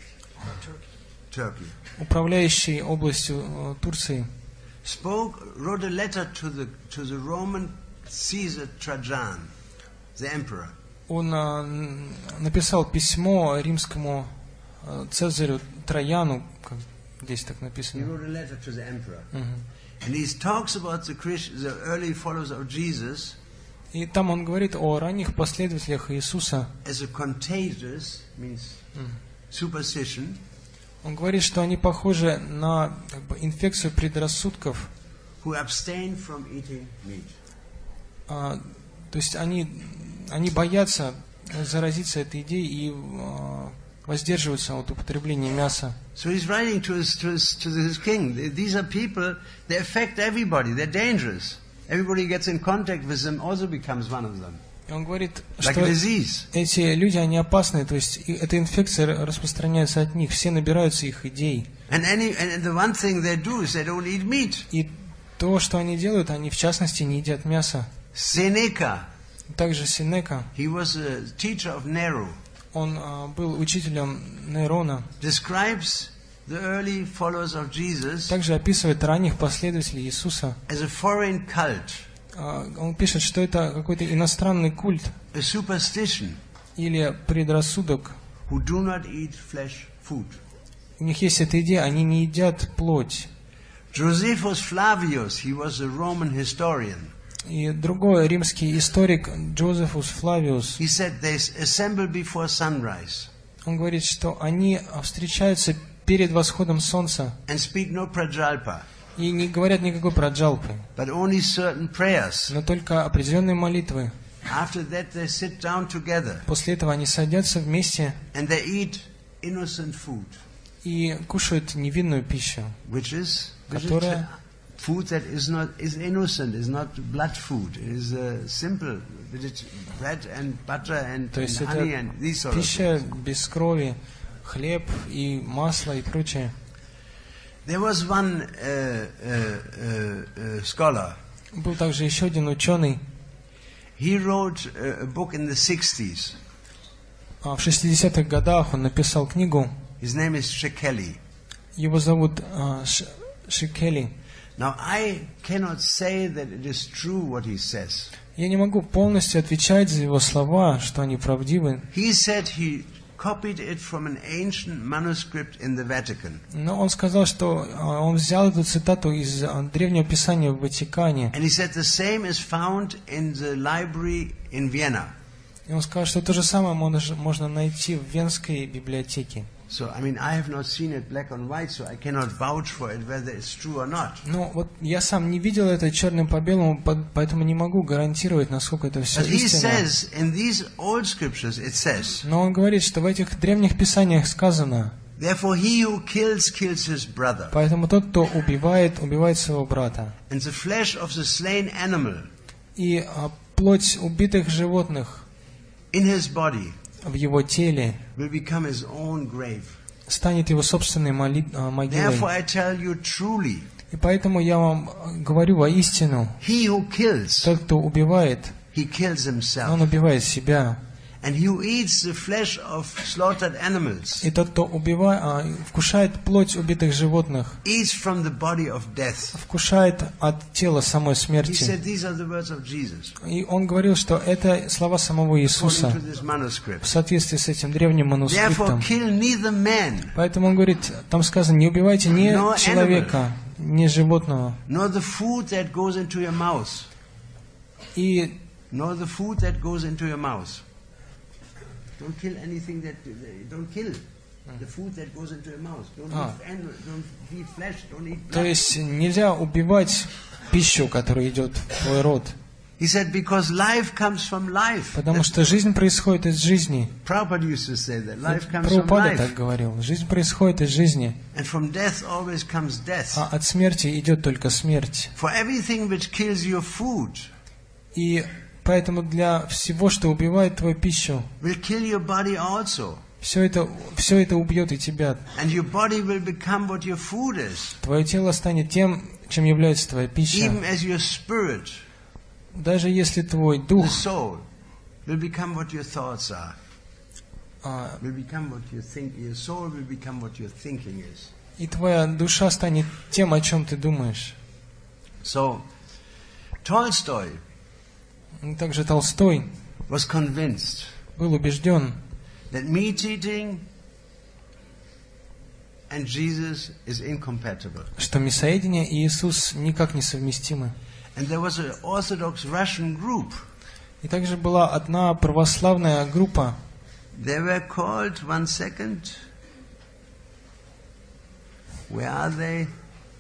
управляющий областью Турции, wrote a letter to the Roman Caesar Trajan, the emperor. Он написал письмо римскому Цезарю Трояну, как здесь так He написано. wrote a letter to the emperor. And he talks about the early followers of Jesus И там он говорит о ранних последователях Иисуса. as a contagious, means superstition, Он говорит, что они похожи на инфекцию предрассудков. who abstain from eating meat. То есть они боятся заразиться этой идеей и воздерживаются от употребления мяса. So he's writing to his king. These are people, they affect everybody. They're dangerous. Everybody gets in contact with them also becomes one of them. И он говорит, Like что a disease. эти люди, они опасны, то есть эта инфекция распространяется от них, все набираются их идей. And the one thing they do is they don't eat meat. И то, что они делают, они в частности не едят мясо. Seneca, Также Сенека, he was a teacher of Nero, он был учителем Нейрона, describes the early followers of Jesus также описывает ранних последователей Иисуса. as a foreign cult, Он пишет, что это какой-то иностранный культ a superstition, или предрассудок. who do not eat flesh food. У них есть эта идея, они не едят плоть. Josephus Flavius, he was a Roman historian. И другой римский историк Джозефус Флавиус, He said they assemble before sunrise он говорит, что они встречаются перед восходом солнца and speak no prajalpa, и не говорят никакой праджалпы, but only certain prayers. но только определенные молитвы. After that they sit down together После этого они садятся вместе and they eat innocent food, и кушают невинную пищу, which is которая food that is innocent, is not blood food. It is simple bread and butter and То есть honey это and these sort of пища things. без крови, хлеб и масло и прочее. There was one scholar. Был также еще один ученый. He wrote a book in the 60s. В 60-х годах он написал книгу. His name is Shekeli. Его зовут Шекели. Now I cannot say that it is true what he says. Я не могу полностью отвечать за его слова, что они правдивы. He said he copied it from an ancient manuscript in the Vatican. Но он сказал, что он взял эту цитату из древнего писания в Ватикане. And he said the same is found in the library in Vienna. И он сказал, что то же самое можно найти в Венской библиотеке. So, I mean, I have not seen it black and white, so I cannot vouch for it whether it's true or not. Ну, вот я сам не видел это черным по белому, поэтому не могу гарантировать, насколько это все But he истинно. says, in these old scriptures, it says, Но он говорит, что в этих древних писаниях сказано, therefore he who kills his brother, поэтому тот, кто убивает своего брата. and the flesh of the slain animal И плоть убитых животных in his body в его теле will become his own grave. станет его собственной могилой. Therefore I tell you truly, И поэтому я вам говорю воистину, he who kills, тот, кто убивает, he kills он himself. убивает себя. And he who eats the flesh of slaughtered animals И тот, кто вкушает плоть убитых животных, eats from the body of death. вкушает от тела самой He смерти. said these are the words of Jesus, И он говорил, что это слова самого according Иисуса to this в manuscript. соответствии с этим древним Therefore манускриптом. kill neither man, Поэтому он говорит, там сказано, не убивайте ни No человека, ни животного. nor the food that goes into your mouth, И nor the food that goes into your mouth. Don't kill anything don't kill the food that goes into your mouth. Don't eat flesh, don't eat то blood. есть нельзя убивать пищу, которая идет в твой рот. He said, because life comes from life. Потому что жизнь происходит из жизни. Prabhupada used to say that life comes from Прабхупада так life. говорил. Жизнь происходит из жизни. And from death always comes death. А от смерти идет только смерть. For everything which kills your food И поэтому для всего, что убивает твою пищу, will kill your body also. все это убьет и тебя. And your body will become what your food is. Твое тело станет тем, чем является твоя пища. Even as your spirit, Даже если твой дух, the soul, will become what your thoughts are. Will become what you think. Your soul will become what your thinking is. и твоя душа станет тем, о чем ты думаешь. So, Tolstoy И также Толстой was convinced был убежден, that meat eating and Jesus is incompatible. что мясоедение и Иисус никак не совместимы. And there was an Orthodox Russian group. И также была одна православная группа, They were called, one second, where are they?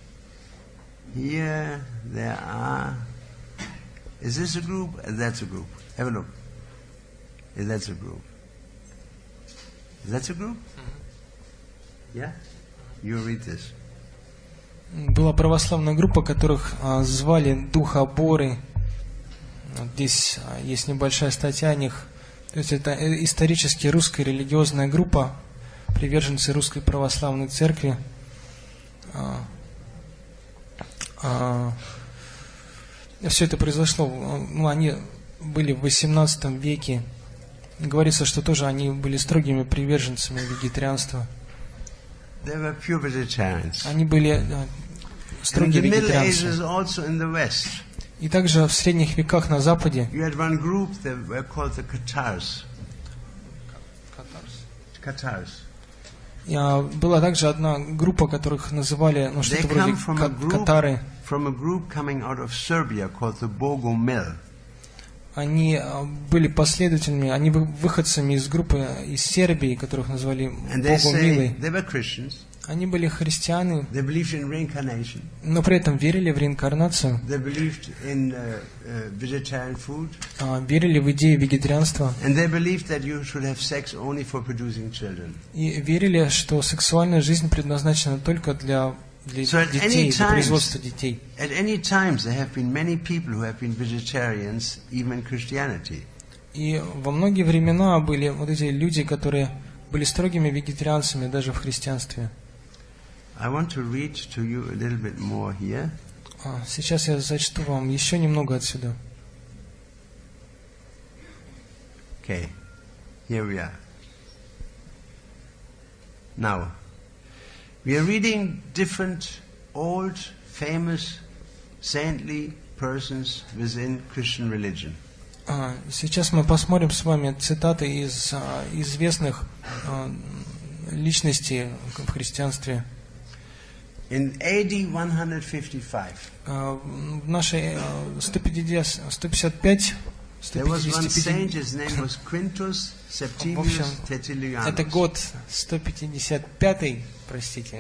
Here there are. Is this a group? That's a group. Have a look. That's a group. That's a group? Yeah? You read this. была православная группа, которых звали Духоборы. Вот здесь есть небольшая статья о них. То есть это исторически русская религиозная группа, приверженцы Русской Православной Церкви. Все это произошло, они были в XVIII веке. Говорится, что тоже они были строгими приверженцами вегетарианства. Они были строгие вегетарианцы. И также в средних веках на Западе была также одна группа, которых называли что-то вроде катары. Они были последователями, они выходцами из группы из Сербии, которых назвали Богомилы. Они были христианы, но при этом верили в реинкарнацию, верили в идею вегетарианства и верили, что сексуальная жизнь предназначена только для детей, для производства детей. И во многие времена были вот эти люди, которые были строгими вегетарианцами даже в христианстве. Сейчас я зачту вам еще немного отсюда. Okay, here we are. Now, we are reading different old, famous, saintly persons within Christian religion. Сейчас мы посмотрим с вами цитаты из известных личностей в христианстве. In AD 155, в нашей 155, there was one saint, his name was Quintus Septimius Tertullianus. Это год 155, простите.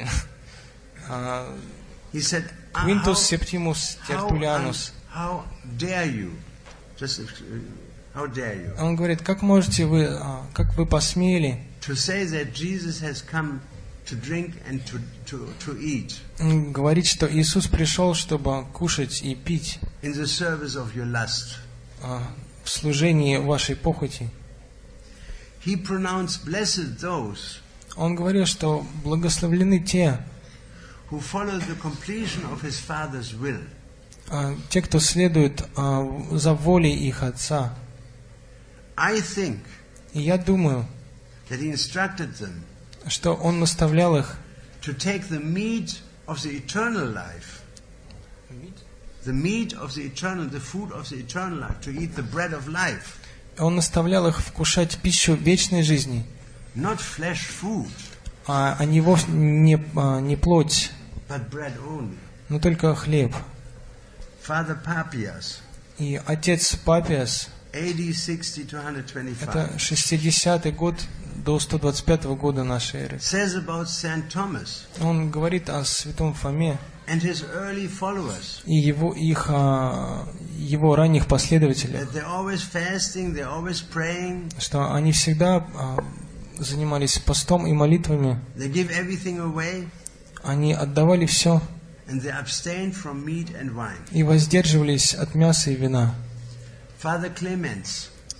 He said, Quintus Septimus Tertullianus. How dare you? Just how dare you? Он говорит, как вы посмели to say that Jesus has come to drink and to eat. Говорить, что Иисус пришел, чтобы кушать и пить. In the service of your lust. В служении вашей похоти. He pronounced blessed those. Он говорил, что благословлены те, who follow the completion of his Father's will. Те, кто следует за волей их Отца. I think. И я думаю, that he instructed them. Что он наставлял их to take the meat of the eternal life, the meat of the eternal, the food of the eternal life, to eat the bread of life. Он наставлял их вкушать пищу вечной жизни, not flesh food, а не плоть, but bread only. Но только хлеб. Father Papias, и отец Папиас, AD 60 to 125, это 60-й год до 125 года нашей эры. Says about Saint Thomas, он говорит о святом Фоме and his early followers, и его ранних последователях, that they're always fasting, they're always praying, что они всегда занимались постом и молитвами, they give everything away, они отдавали все, and they abstained from meat and wine. И воздерживались от мяса и вина. Father Clemens,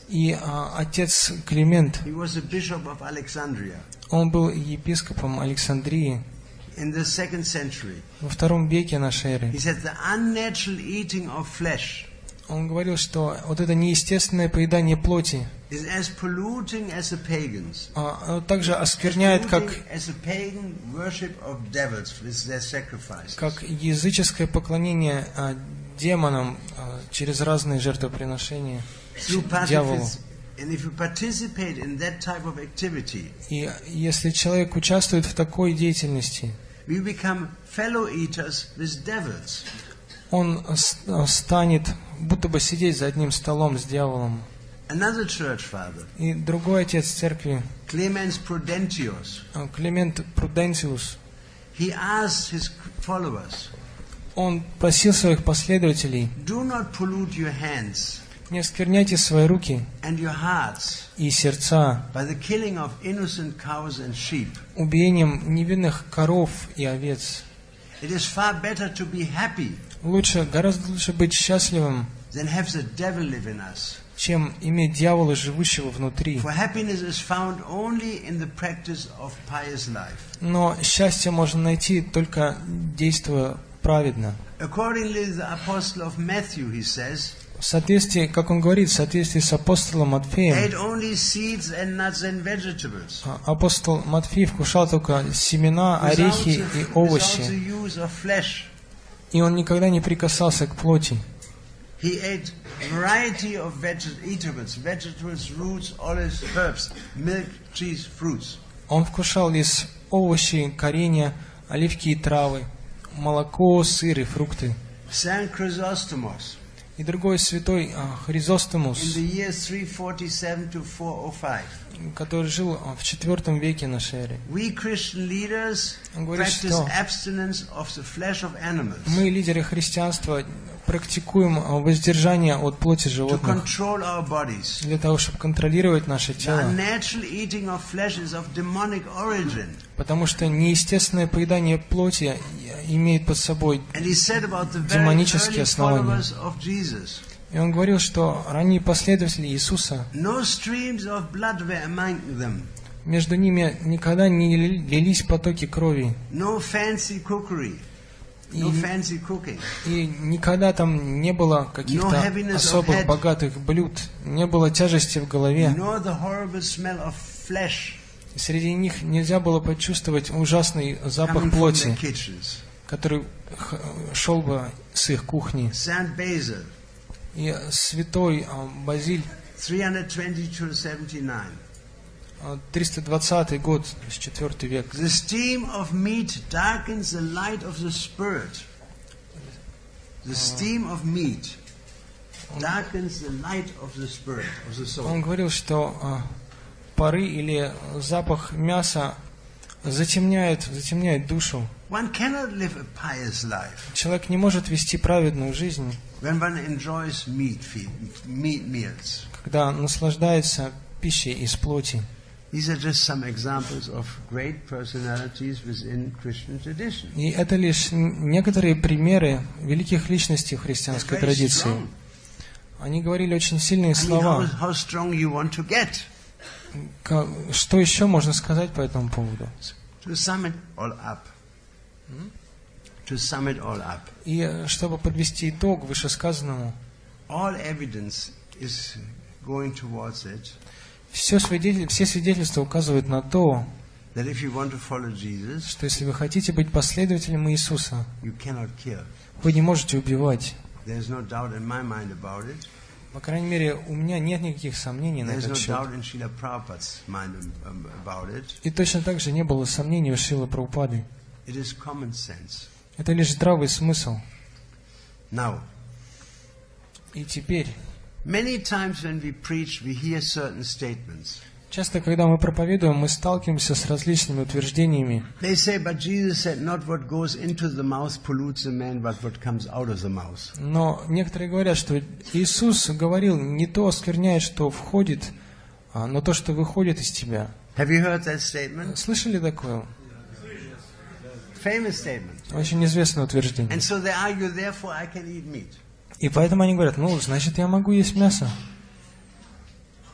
И отец Климент, he was a bishop of Alexandria он был епископом Александрии in the 2nd century. во II веке нашей эры. He said the unnatural eating of flesh Он говорил, что вот это неестественное поедание плоти is as polluting as the pagans. оно также оскверняет, как As a pagan worship of devils with their sacrifices. языческое поклонение демонам через разные жертвоприношения дьяволу. And if you participate in that type of activity, И если человек участвует в такой деятельности, we become fellow eaters with devils. он станет будто бы сидеть за одним столом с дьяволом. Another church father, И другой отец церкви, Clemens Prudentius, Климент Пруденциус, he asked his followers, он просил своих последователей: do not pollute your hands не оскверняйте свои руки and your hearts и сердца by the killing of innocent cows and sheep. убиением невинных коров и овец. It is far better to be happy Гораздо лучше быть счастливым, than have the devil live in us. чем иметь дьявола, живущего внутри. For happiness is found only in the practice of pious life. Но счастье можно найти только действуя праведно. Accordingly, the apostle of Matthew, he says, В соответствии, как он говорит, в соответствии с апостолом Матфеем, ate only seeds and nuts and vegetables. Апостол Матфей вкушал только семена, орехи и Without овощи, the use of flesh. и он никогда не прикасался к плоти. He ate variety of vegetables, roots, olives, herbs, milk, cheese, fruits. Он вкушал из овощей, коренья, оливки и травы, молоко, сыр и фрукты. Saint Chrysostomos, И другой святой in Хризостомус, the years 347 to 405. который жил в IV веке нашей эры. We Christian leaders Он говорит, practice что abstinence of the flesh of animals мы, лидеры христианства, практикуем воздержание от плоти to животных control our bodies. для того, чтобы контролировать наше The тело. unnatural eating of flesh is of demonic origin. Потому что неестественное поедание плоти имеет под собой And he said about the very демонические early основания. followers of Jesus, И он говорил, что ранние последователи Иисуса, no streams of blood were among them, между ними никогда не лились потоки крови. no fancy cookery, no fancy cooking, И никогда там не было каких-то No heaviness of особых head. богатых блюд, не было тяжести в голове. nor the horrible smell of flesh И среди них нельзя было почувствовать ужасный запах coming from their плоти, kitchens. который шел бы с их кухни. Saint Basil, И святой Базиль, 320-79. 320 год, то есть 4 век. The steam of meat darkens the light of the spirit. The steam of meat darkens the light of the spirit, of the soul. Он говорил, что пары или запах мяса затемняет душу. One cannot live a pious life Человек не может вести праведную жизнь, when one enjoys meat meals. когда наслаждается пищей из плоти. These are just some examples of great personalities within Christian tradition. И это лишь некоторые примеры великих личностей в христианской Very традиции. strong. Они говорили очень сильные I mean, слова. how strong you want to get. Что еще можно сказать по этому поводу? To sum it all up. To sum it all up. И чтобы подвести итог вышесказанному, All evidence is going towards it все свидетельства указывают на то, that if you want to follow Jesus, что если вы хотите быть последователем Иисуса, you cannot kill. вы не можете убивать. There's no doubt in my mind about it. По крайней мере, у меня нет никаких сомнений на There's этот no счет. doubt in Srila Prabhupada's mind about it. И точно так же не было сомнений у Шрилы Прабхупады. It is common sense. Это лишь здравый смысл. Now, И теперь, many times when we preach, we hear certain statements. часто, когда мы проповедуем, мы сталкиваемся с различными утверждениями. They say, but Jesus said, not what goes into the mouth pollutes the man, but what comes out of the mouth. Но некоторые говорят, что Иисус говорил, не то оскверняет, что входит, но то, что выходит из тебя. Have you heard that statement? Слышали такое? Famous statement. Очень известное утверждение. And so they argue, therefore I can eat meat. И поэтому они говорят, значит, я могу есть мясо.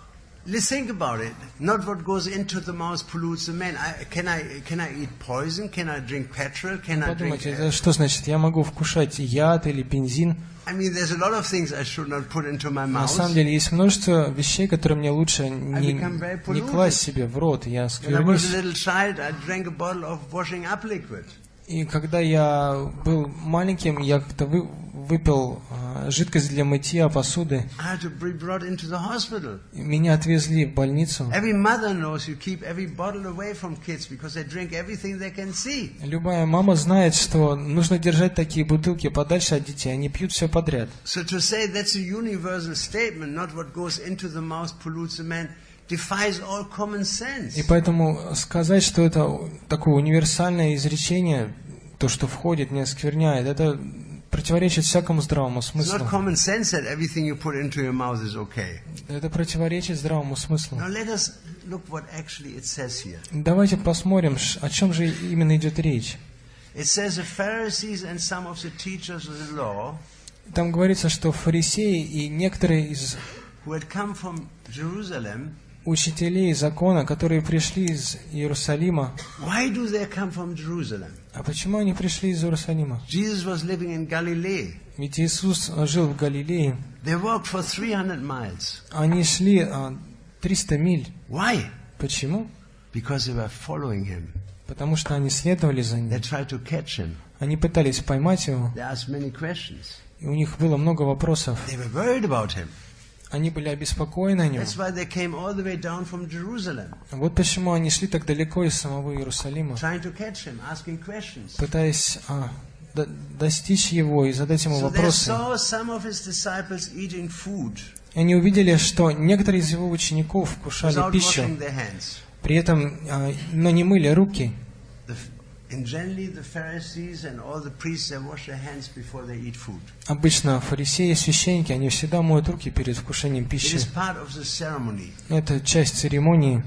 let's think about it. Not what goes into the mouth pollutes the man. Can I eat poison? Can I drink petrol? Can I drink... Подумайте, что значит, я могу вкушать яд или бензин? I mean, there's a lot of things I should not put into my На mouth. самом деле, есть множество вещей, которые мне лучше не класть себе в рот. Я When I was сквернюсь. a little child, I drank a bottle of washing up liquid. И когда я был маленьким, я как-то выпил жидкость для мытья посуды. I had to be brought into the hospital. Меня отвезли в больницу. Every mother knows you keep every bottle away from kids because they drink everything they can see. Любая мама знает, что нужно держать такие бутылки подальше от детей, они пьют все подряд. So to say that's a universal statement, not what goes into the mouth pollutes the man, defies all common sense. И поэтому сказать, что это такое универсальное изречение, то, что входит, не оскверняет, это противоречит всякому здравому It's смыслу. not common sense that everything you put into your mouth is okay. Это противоречит здравому смыслу. Now let us look what actually it says here. Давайте посмотрим, о чем же именно идет речь. It says the Pharisees and some of the teachers of the law Там говорится, что фарисеи и некоторые из who had come from Jerusalem. учителей закона, которые пришли из Иерусалима. Why do they come from Jerusalem? А почему они пришли из Иерусалима? Jesus was living in Galilee. Ведь Иисус жил в Галилее. They walked for 300 miles. Они шли 300 миль. Why? Почему? Because they were following him. Потому что они следовали за They ним. tried to catch him. Они пытались поймать его, They asked many questions. и у них было много вопросов. They were worried about him. Они были обеспокоены о нем. That's why they came all the way down from Jerusalem, Вот почему они шли так далеко из самого Иерусалима, trying to catch him, asking questions. пытаясь достичь его и задать ему So they вопросы. saw some of his disciples eating food И они увидели, что некоторые из его учеников вкушали without пищу, washing their hands. при этом, но не мыли руки. And generally the Pharisees and all the priests, they wash their hands before they eat food. Обычно фарисеи и священники, они всегда моют руки перед вкушением It пищи. is part of the ceremony. Это часть церемонии.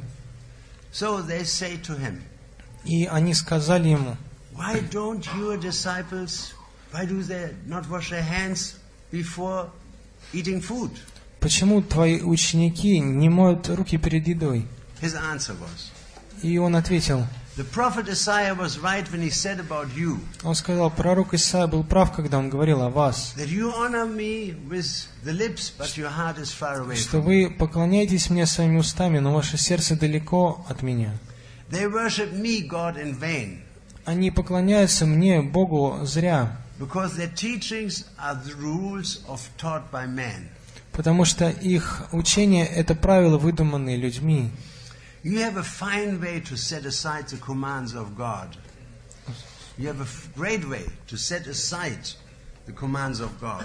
So they say to him, И они сказали ему: why don't your disciples, why do they not wash their hands before eating food? почему твои ученики не моют руки перед едой? His answer was, И он ответил, the prophet Isaiah was right when he said about you, он сказал, пророк Исаия был прав, когда он говорил о вас, that you honor me with the lips, but your heart is far away что from me. вы поклоняетесь мне своими устами, но ваше сердце далеко от меня. They worship me, God, in vain, Они поклоняются мне, Богу, зря, because their teachings are the rules of taught by man. потому что их учение – это правила, выдуманные людьми. You have a fine way to set aside the commands of God. You have a great way to set aside the commands of God.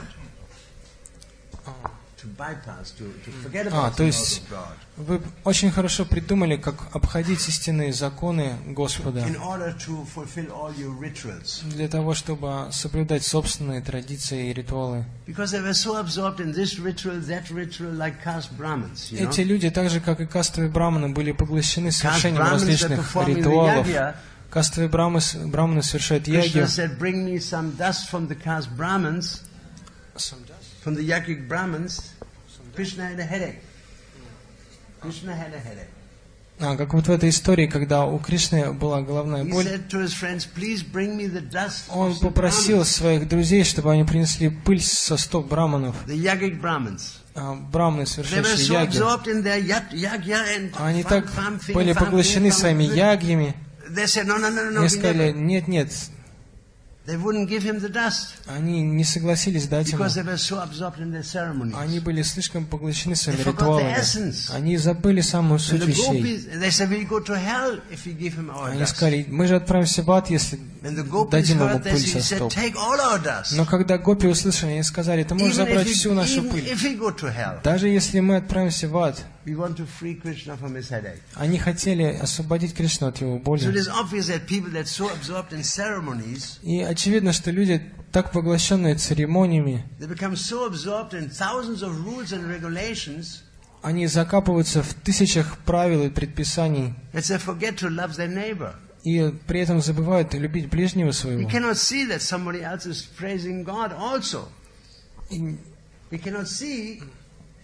To bypass, to forget about то the laws есть of God. вы очень хорошо придумали, как обходить истинные законы Господа In order to fulfill all your rituals. для того, чтобы соблюдать собственные традиции и ритуалы. Because they were so absorbed in this ritual, that ritual, like caste Brahmins. You know? Эти люди, так же как и кастовые браманы, были поглощены совершением Brahmins, they're различных performing the ритуалов. yagya. Кастовые браманы совершают Krishna ягью. said, bring me some dust from the caste Brahmins, from the Yagic Brahmins. Krishna had a headache. Krishna had a headache. Как вот в этой истории, когда у Кришны была головная He боль, said to his friends, please bring me the dust он of the попросил Brahmins, своих друзей, чтобы они принесли пыль со стоп браманов. the Yagic Brahmins. Браманы, They were совершающие so яги. absorbed in their yagya and Они так fam, были поглощены своими ягьями. They said, no, Они we сказали, never. нет, They wouldn't give him the dust они не согласились дать ему. because they were so absorbed in their ceremonies. Они были слишком поглощены своими They forgot the ритуалами. essence. Они забыли самую And суть the вещей. gopis, they said, we'll go to hell if we give him our Они dust. сказали, мы же отправимся в ад, если And the gopis дадим ему heard this, пыль he со said, стоп. take all our dust. Но когда гопи услышали, они сказали, ты можешь Even забрать всю нашу even пыль. if we go to hell, Даже если мы отправимся в ад. we want to free Krishna from his headache. Они хотели освободить Кришну от его So it боли. is obvious that people that so absorbed in ceremonies, И очевидно, что люди, так поглощенные церемониями, they become so absorbed in thousands of rules and regulations они закапываются в тысячах правил и предписаний, that they forget to love their neighbor. и при этом забывают любить ближнего We своего. cannot see that somebody else is praising God also. И We cannot see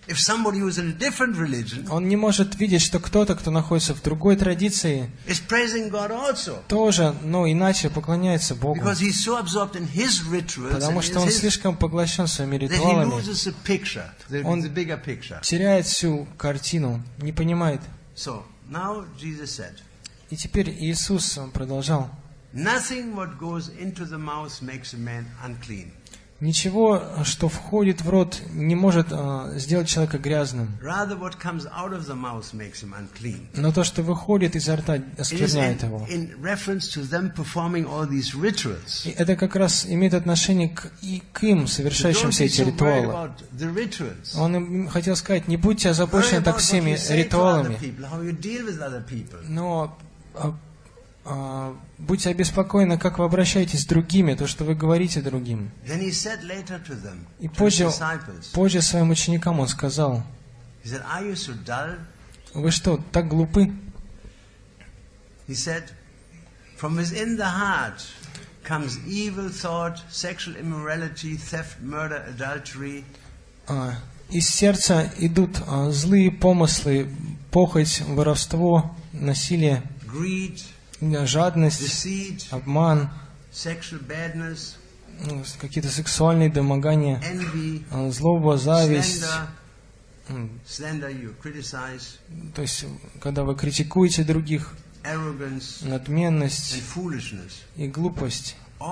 If somebody who's in a different religion Он не может видеть, что кто-то, кто находится в другой традиции, is praising God also. тоже, но иначе поклоняется Богу. Because he's so absorbed in his rituals Потому and что он слишком поглощен своими that he ритуалами, loses the picture, the bigger picture. теряет всю картину, не понимает. So, now Jesus said, И теперь Иисус продолжал. nothing what goes into the mouth makes a man unclean. Ничего, что входит в рот, не может сделать человека грязным. Rather, what comes out of the mouth makes him unclean. Но то, что выходит изо рта, оскверняет его. In reference to them performing all these rituals. И это как раз имеет отношение к им, совершающим все эти ритуалы. Он им хотел сказать, не будьте озабочены так всеми ритуалами, но будьте обеспокоены, как вы обращаетесь с другими, то, что вы говорите другим. И позже своим ученикам он сказал, вы что, так глупы? Из сердца идут злые помыслы, похоть, воровство, насилие, жадность, обман, какие-то сексуальные домогания, злоба, зависть. То есть, когда вы критикуете других, надменность и глупость.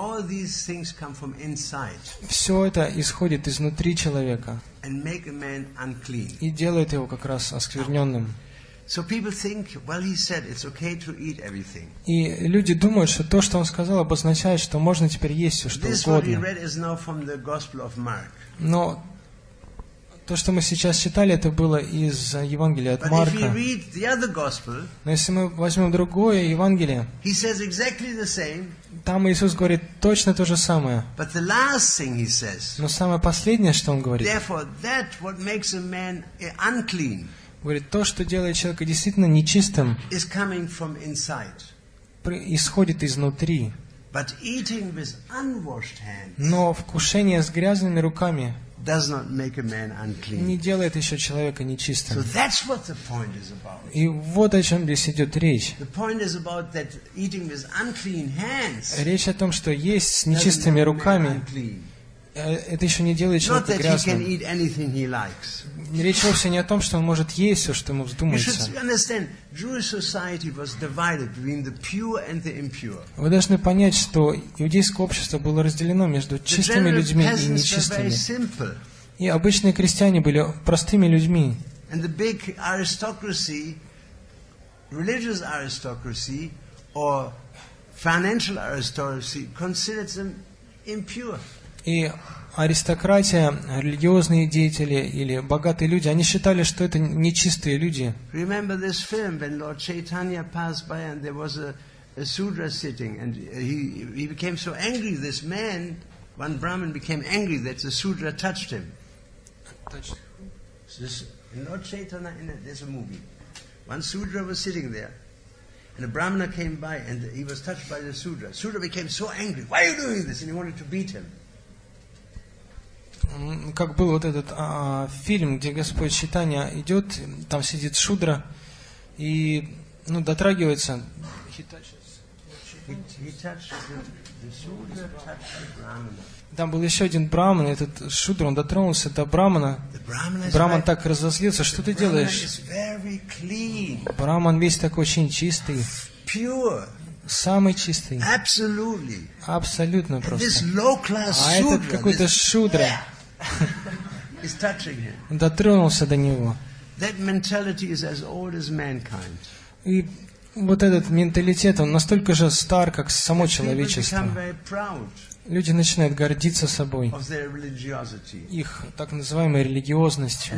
Все это исходит изнутри человека и делает его как раз оскверненным. И люди думают, что то, что он сказал, обозначает, что можно теперь есть все, что угодно. Но то, что мы сейчас читали, это было из Евангелия от Марка. Но если мы возьмем другое Евангелие, там Иисус говорит точно то же самое. Но самое последнее, что Он говорит, говорит, то, что делает человека действительно нечистым, исходит изнутри. Но вкушение с грязными руками не делает еще человека нечистым. И вот о чем здесь идет речь. Речь о том, что есть с нечистыми руками, это еще не делает человека грязным. Речь вовсе не о том, что он может есть все, что ему вздумается. Вы должны понять, что иудейское общество было разделено между чистыми людьми и нечистыми. И обычные крестьяне были простыми людьми. И аристократия, религиозные деятели или богатые люди, они считали, что это нечистые люди. Remember this film when Lord Chaitanya passed by and there was a Sudra sitting and he became so angry. This man, one Brahmin, became angry that the Sudra touched him. In Lord Chaitanya, there's a movie. One Sudra was sitting there. And a Brahmana came by and he was touched by the Sudra. Sudra became so angry. Why are you doing this? And he wanted to beat him. Как был вот этот фильм, где Господь Чайтанья идет, там сидит Шудра и дотрагивается. Там был еще один браман, этот Шудра, он дотронулся до брамана. Браман так разозлился, что ты делаешь? Браман весь такой очень чистый. Самый чистый. Абсолютно просто. А этот какой-то Шудра дотронулся до него. И вот этот менталитет, он настолько же стар, как само человечество. Люди начинают гордиться собой, их так называемой религиозностью.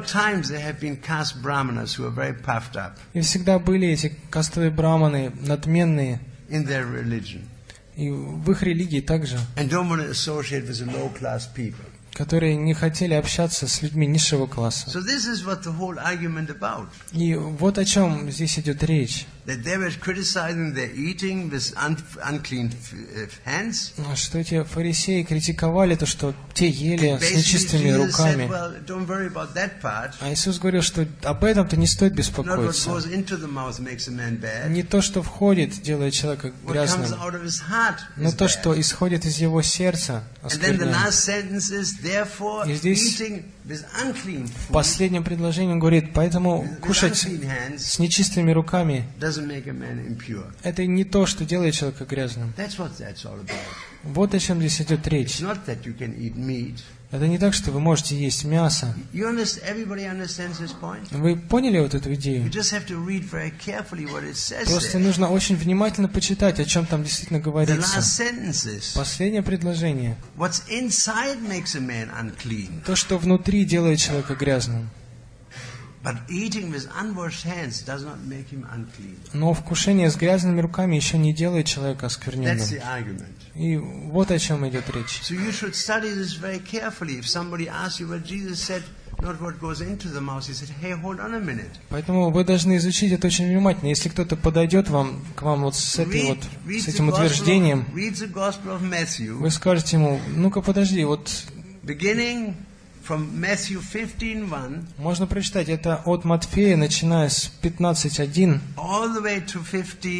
И всегда были эти кастовые браманы, надменные, и в их религии также, которые не хотели общаться с людьми низшего класса. So this is what the whole argument about. И вот о чем здесь идет речь. That they were criticizing their eating with unclean hands. Что эти фарисеи критиковали то, что те ели с Basically, нечистыми Jesus руками. said, well, don't worry about that part. А Иисус говорил, что об этом-то не стоит Not what беспокоиться. goes into the mouth makes a man bad. Не то, что входит, делает человека What comes грязным, out of his heart но is то, bad. что исходит из его сердца, And then the оскверняет. last sentence is, therefore, И здесь eating with unclean В food, последнем предложении он говорит, поэтому with кушать unclean hands, с нечистыми руками doesn't make a man impure. это не то, что делает человека грязным. That's what that's all about. Вот о чем здесь идет It's речь. not that you can eat meat. Это не так, что вы можете есть мясо. Everybody understands this point? Вы поняли вот эту You идею? just have to read very carefully what it says Просто there. нужно очень внимательно почитать, о чем там действительно The говорится. last sentence is, Последнее предложение. what's inside makes a man unclean. То, что внутри делает человека грязным. But eating with unwashed hands does not make him unclean. Но вкушение с грязными руками еще не делает человека That's оскверненным. the argument. И вот о чем идет речь. So you should study this very carefully. If somebody asks you what Jesus said, not what goes into the mouth, he said, hey, hold on a minute. Поэтому вы должны изучить это очень внимательно. Если кто-то подойдет к вам вот с этим утверждением, read the Gospel of Matthew, вы скажете ему, ну-ка подожди, вот beginning from Matthew 15:1 можно прочитать это от Матфея, начиная с 15:1 all the way to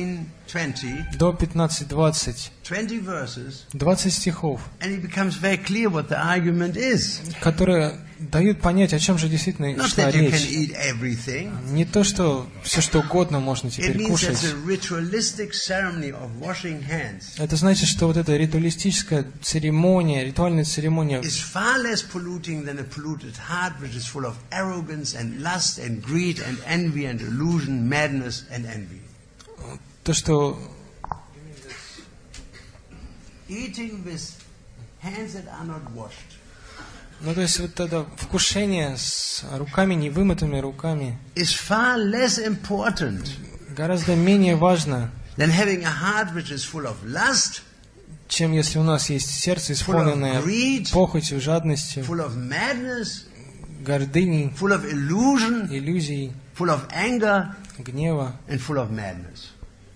15:20, до 15:20, 20 verses, 20 стихов, and it becomes very clear what the argument is. которые дают понять, о чем же действительно Not шла that you can речь. eat everything. Не то, что все что угодно можно It теперь means кушать. it's a ritualistic ceremony of washing hands. Это значит, что вот эта ритуалистическая церемония, ритуальная церемония Is far less polluting than a polluted heart which is full of arrogance and lust and greed and envy and illusion, madness and envy. то, что Eating with hands that are not washed. ну, то есть вот это вкушение с руками, невымытыми руками, Is far less important гораздо менее важно, than having a heart which is full of lust, чем если у нас есть сердце, исполненное greed, похотью, жадностью, full of madness, гордыней, full of illusion, иллюзий, full of anger, гнева and full of madness,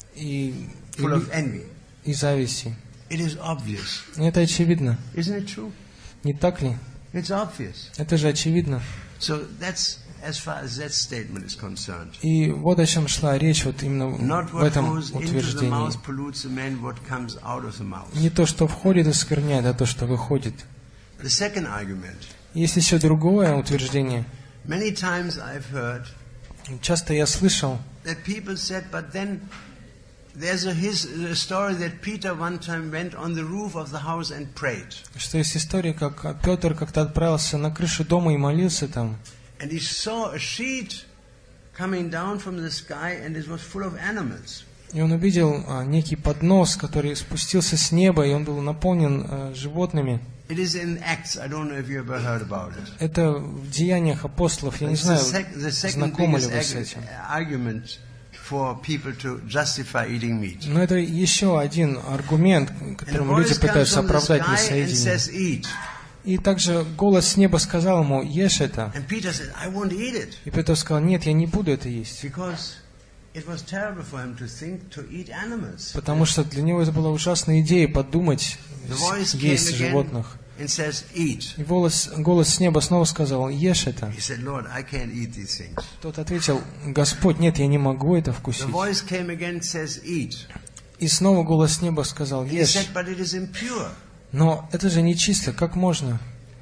и full of envy. зависти. It is obvious. Это очевидно. Isn't it true? Не так ли? It's obvious. Это же очевидно. So that's as far as that statement is concerned. И вот о чем шла речь вот именно Not в what этом goes into the утверждении. mouth pollutes a man, what comes out of the mouth. Не то, что входит, оскверняет, а то, что выходит. The second argument. Есть еще другое утверждение. Many times I've heard Часто я слышал, that people said, but then there's a story that Peter one time went on the roof of the house and prayed. что есть история, как Петр как-то отправился на крышу дома и молился там. And he saw a sheet coming down from the sky and it was full of animals. И он увидел некий поднос, который спустился с неба, и он был наполнен животными. It is in Acts. I don't know if you ever heard about it. Это в Деяниях апостолов. Я не It's знаю, the second знакомы ли вы с biggest этим. argument for people to justify eating meat. Но это еще один аргумент, And the которым люди voice comes пытаются from the оправдать sky and мясоедение. says, eat. И также голос с неба сказал ему, ешь это. And Peter said, I won't eat it. И Петр сказал, нет, я не буду это есть. Because it was terrible for him to think to eat animals. Потому что для него это была ужасная идея подумать, The voice came есть again животных. and says, eat. И голос с неба снова сказал, ешь это. He said, Lord, I can't eat these things. Тот ответил, Господь, нет, я не могу это вкусить. The voice came again and says, eat. И снова голос с неба сказал, He ешь. said, but it is impure. Но это же нечисто, как можно?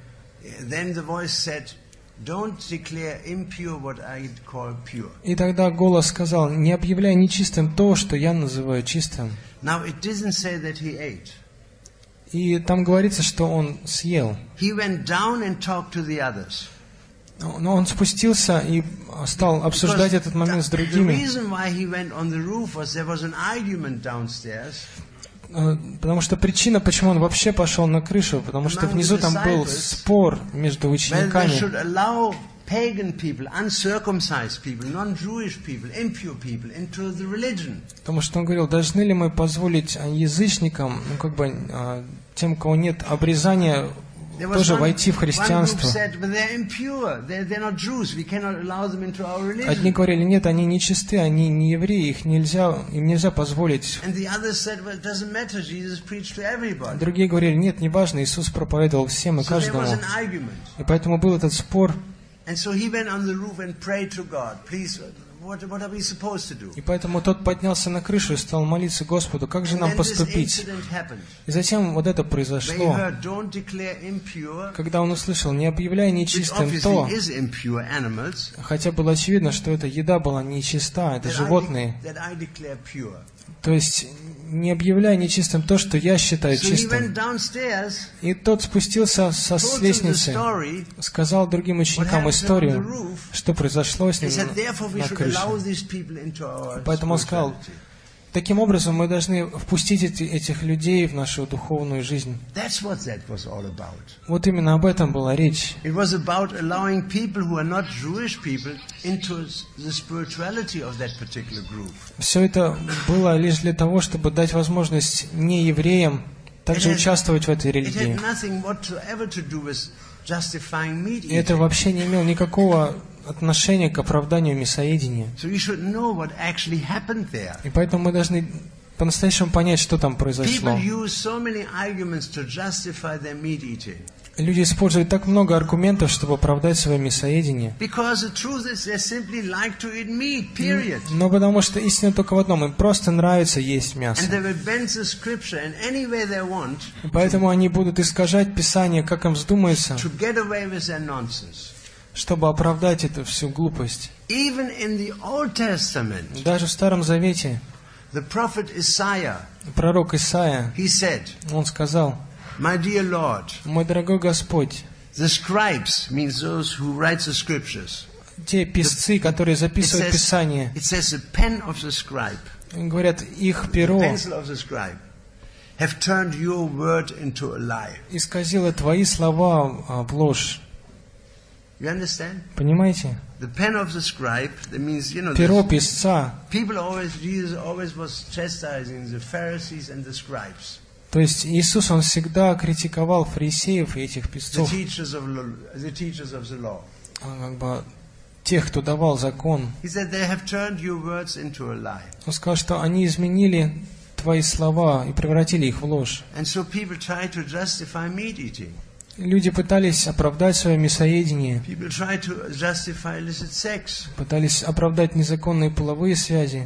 Then the voice said, don't declare impure what I call pure. И тогда голос сказал, не объявляй нечистым то, что я называю чистым. Now it doesn't say that he ate. И там говорится, что он съел. He went down and talked to the others. Но он спустился и стал обсуждать этот момент с The другими. reason why he went on the roof was there was an argument downstairs. Потому что причина, почему он вообще пошел на крышу, потому что внизу там был спор между Well, they учениками. should allow pagan people, uncircumcised people, non-Jewish people, impure people into the religion. Потому что он говорил, должны ли мы позволить язычникам, тем, у кого нет обрезания, тоже войти в христианство. Одни говорили, нет, они нечисты, они не евреи, им нельзя позволить. Другие говорили, нет, неважно, Иисус проповедовал всем и каждому. И поэтому был этот спор. И поэтому тот поднялся на крышу и стал молиться Господу, как же нам поступить? И затем вот это произошло, когда он услышал, не объявляй нечистым то, хотя было очевидно, что эта еда была нечиста, это животные. То есть, не объявляй нечистым то, что я считаю чистым. И тот спустился с лестницы, сказал другим ученикам историю, что произошло с ним на крыше. Поэтому он сказал, таким образом мы должны впустить этих людей в нашу духовную жизнь. Вот именно об этом была речь. Все это было лишь для того, чтобы дать возможность неевреям также участвовать в этой религии. И это вообще не имело никакого отношения к оправданию мясоедения. И поэтому мы должны по-настоящему понять, что там произошло. Люди используют так много аргументов, чтобы оправдать свое мясоедение. Но потому что истина только в одном, им просто нравится есть мясо. И поэтому они будут искажать Писание, как им вздумается, чтобы оправдать эту всю глупость. Даже в Старом Завете пророк Исаия, он сказал, My dear Lord, мой дорогой Господь, the scribes means those who write the scriptures. Те писцы, которые записывают Писание, it says the pen of the scribe, говорят, их перо pencil of the scribe, have turned your word into a lie. Исказило твои слова в ложь. You understand? Понимаете? The pen of the scribe, that means, you know, перо писца. Jesus always was chastising the Pharisees and the scribes. То есть Иисус, Он всегда критиковал фарисеев и этих писцов, как бы тех, кто давал закон. Он сказал, что они изменили твои слова и превратили их в ложь. Люди пытались оправдать свое мясоедение, пытались оправдать незаконные половые связи,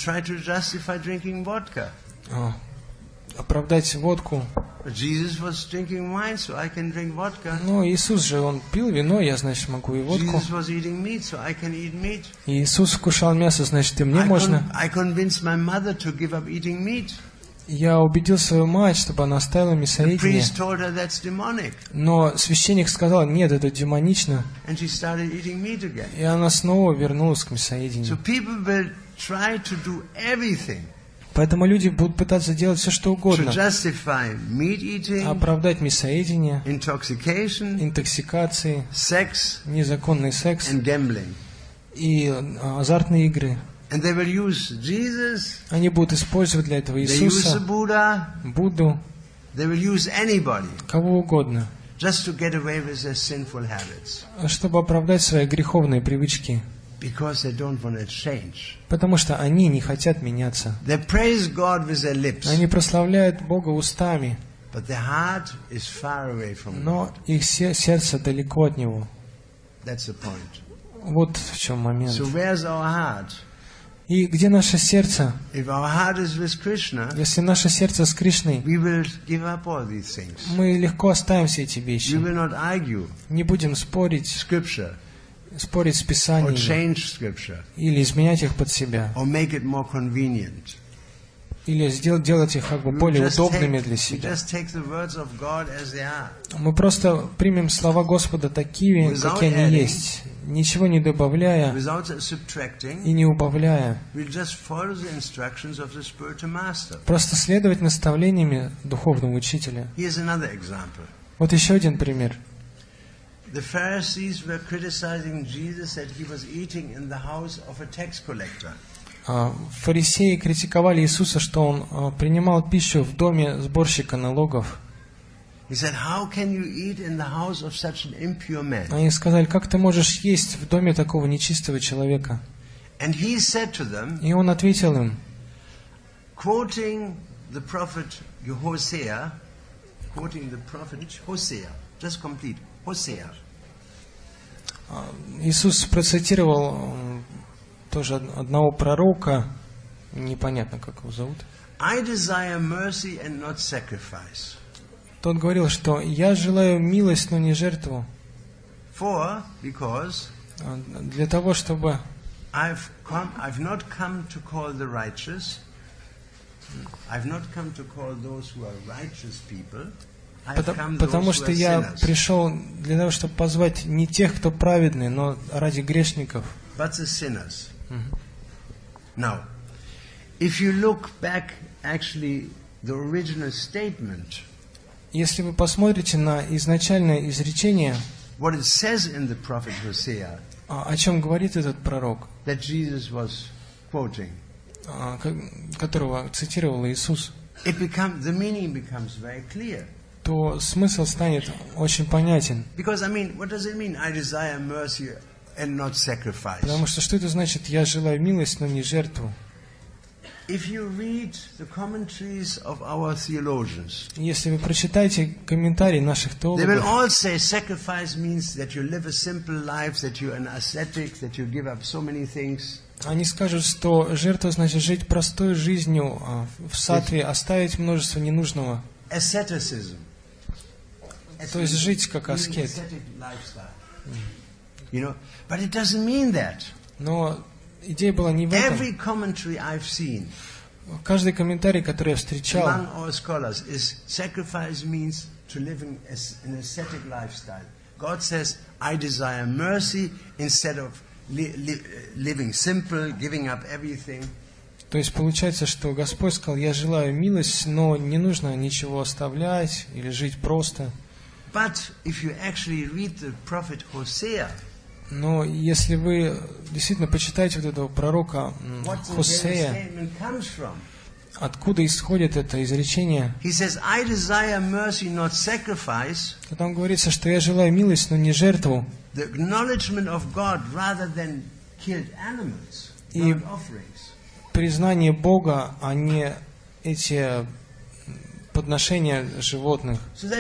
оправдать водку. Но Иисус же, Он пил вино, я, значит, могу и водку. И Иисус вкушал мясо, значит, и мне можно. Я убедил свою мать, чтобы она оставила мясоедение. Но священник сказал, нет, это демонично. И она снова вернулась к мясоедению. Поэтому люди будут пытаться делать все, что угодно. Оправдать мясоедение, интоксикации, незаконный секс и азартные игры. Они будут использовать для этого Иисуса, Будду, кого угодно, чтобы оправдать свои греховные привычки. Потому что они не хотят меняться. Они прославляют Бога устами, но их сердце далеко от Него. Вот в чем момент. И где наше сердце? Если наше сердце с Кришной, мы легко оставим все эти вещи. Не будем спорить с Писанием или изменять их под себя, или делать их как бы более удобными для себя. Мы просто примем слова Господа такими, какие они есть, ничего не добавляя и не убавляя. Просто следовать наставлениями духовного учителя. Вот еще один пример. The Pharisees were criticizing Jesus that he was eating in the house of a tax collector. Фарисеи критиковали Иисуса, что Он принимал пищу в доме сборщика налогов. He said, how can you eat in the house of such an impure man? Они сказали, как ты можешь есть в доме такого нечистого человека? And he said to them, И он ответил им, quoting the prophet Hosea, just complete, Hosea. Иисус процитировал тоже одного пророка, непонятно, как его зовут. I desire mercy and not sacrifice. Тот говорил, что «я желаю милость, но не жертву». Because для того, чтобы I've not come to call the righteous. I've not come to call those who are righteous people. Потому что я пришел для того, чтобы позвать не тех, кто праведный, но ради грешников. But the sinners. Now, if you look back, actually, the original statement. Если вы посмотрите на изначальное изречение, what it says in the prophet Hosea, о чем говорит этот пророк, that Jesus was quoting, которого цитировал Иисус, the meaning becomes very clear. То смысл станет очень понятен. Because, I mean, what does it mean? I desire mercy and not sacrifice. Потому что что это значит? Я желаю милость, но не жертву. If you read the commentaries of our theologians, если вы прочитаете комментарии наших теологов, they will all say sacrifice means that you live a simple life, that you're an ascetic, that you give up so many things. Они скажут, что жертва значит жить простой жизнью в сатве, оставить множество ненужного. Asceticism. То есть жить как аскет. You know, but it doesn't mean that. Но идея была не в этом. Every commentary I've seen, каждый комментарий, который я встречал, among all scholars, is sacrifice means to live an ascetic lifestyle. God says, I desire mercy instead of living simple, giving up everything. То есть получается, что Господь сказал, я желаю милость, но не нужно ничего оставлять или жить просто. But if you actually read the prophet Hosea, но если вы действительно почитаете вот этого пророка Хосея, откуда исходит это изречение? То там говорится, что я желаю милость, но не жертву. И признание Бога, а не эти подношения животных.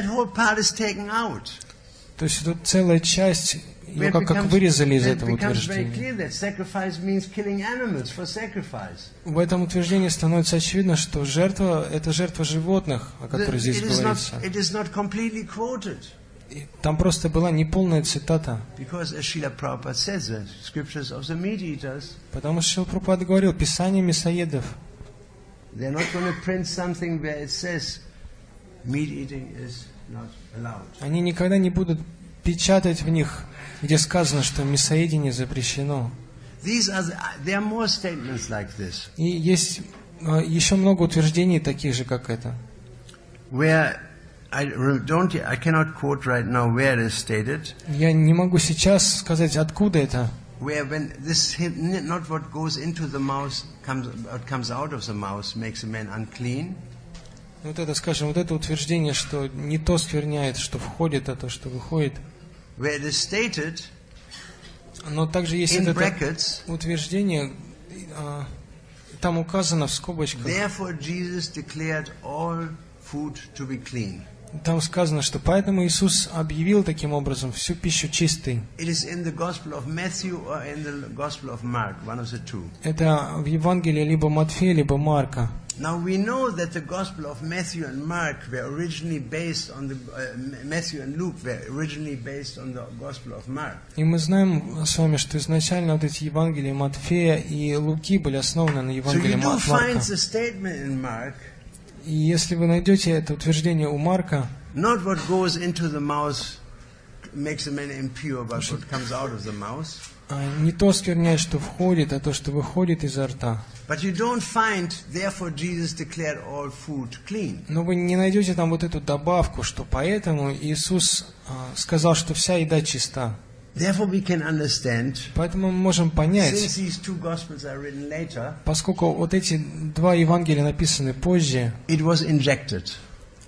То есть тут целая часть, ее как вырезали из этого утверждения. В этом утверждении становится очевидно, что жертва – это жертва животных, о которой здесь говорится. И там просто была неполная цитата. Потому что Шрила Прабхупада говорил, Писание мясоедов. Они никогда не будут печатать в них, где сказано, что мясоедение запрещено. И есть еще много утверждений таких же, как это. I cannot quote right now where it is stated. Я не могу сейчас сказать, откуда это. Where when this not what goes into the mouth comes out of the mouth makes a man unclean. Вот это, скажем, вот это утверждение, что не то скверняет, что входит, а то, что выходит. Where it is stated. Но также есть это утверждение, там указано в скобочках. Therefore Jesus declared all food to be clean. Там сказано, что поэтому Иисус объявил таким образом всю пищу чистой. Это в Евангелии либо Матфея, либо Марка. Now we know that the Gospel of Matthew and Mark were originally based on the Matthew and Luke were originally based on the Gospel of Mark. И мы знаем с вами, что изначально вот эти Евангелия Матфея и Луки были основаны на Евангелии Марка. So you do find the statement in Mark. И если вы найдете это утверждение у Марка, not what goes into the mouth makes a man impure, but what comes out of the mouth. Не то скверняет, что входит, а то, что выходит изо рта. But you don't find, therefore Jesus declared all food clean. Но вы не найдете там вот эту добавку, что поэтому Иисус сказал, что вся еда чиста. Therefore we can understand, поэтому мы можем понять, since these two Gospels are written later, поскольку вот эти два Евангелия написаны позже, it was injected.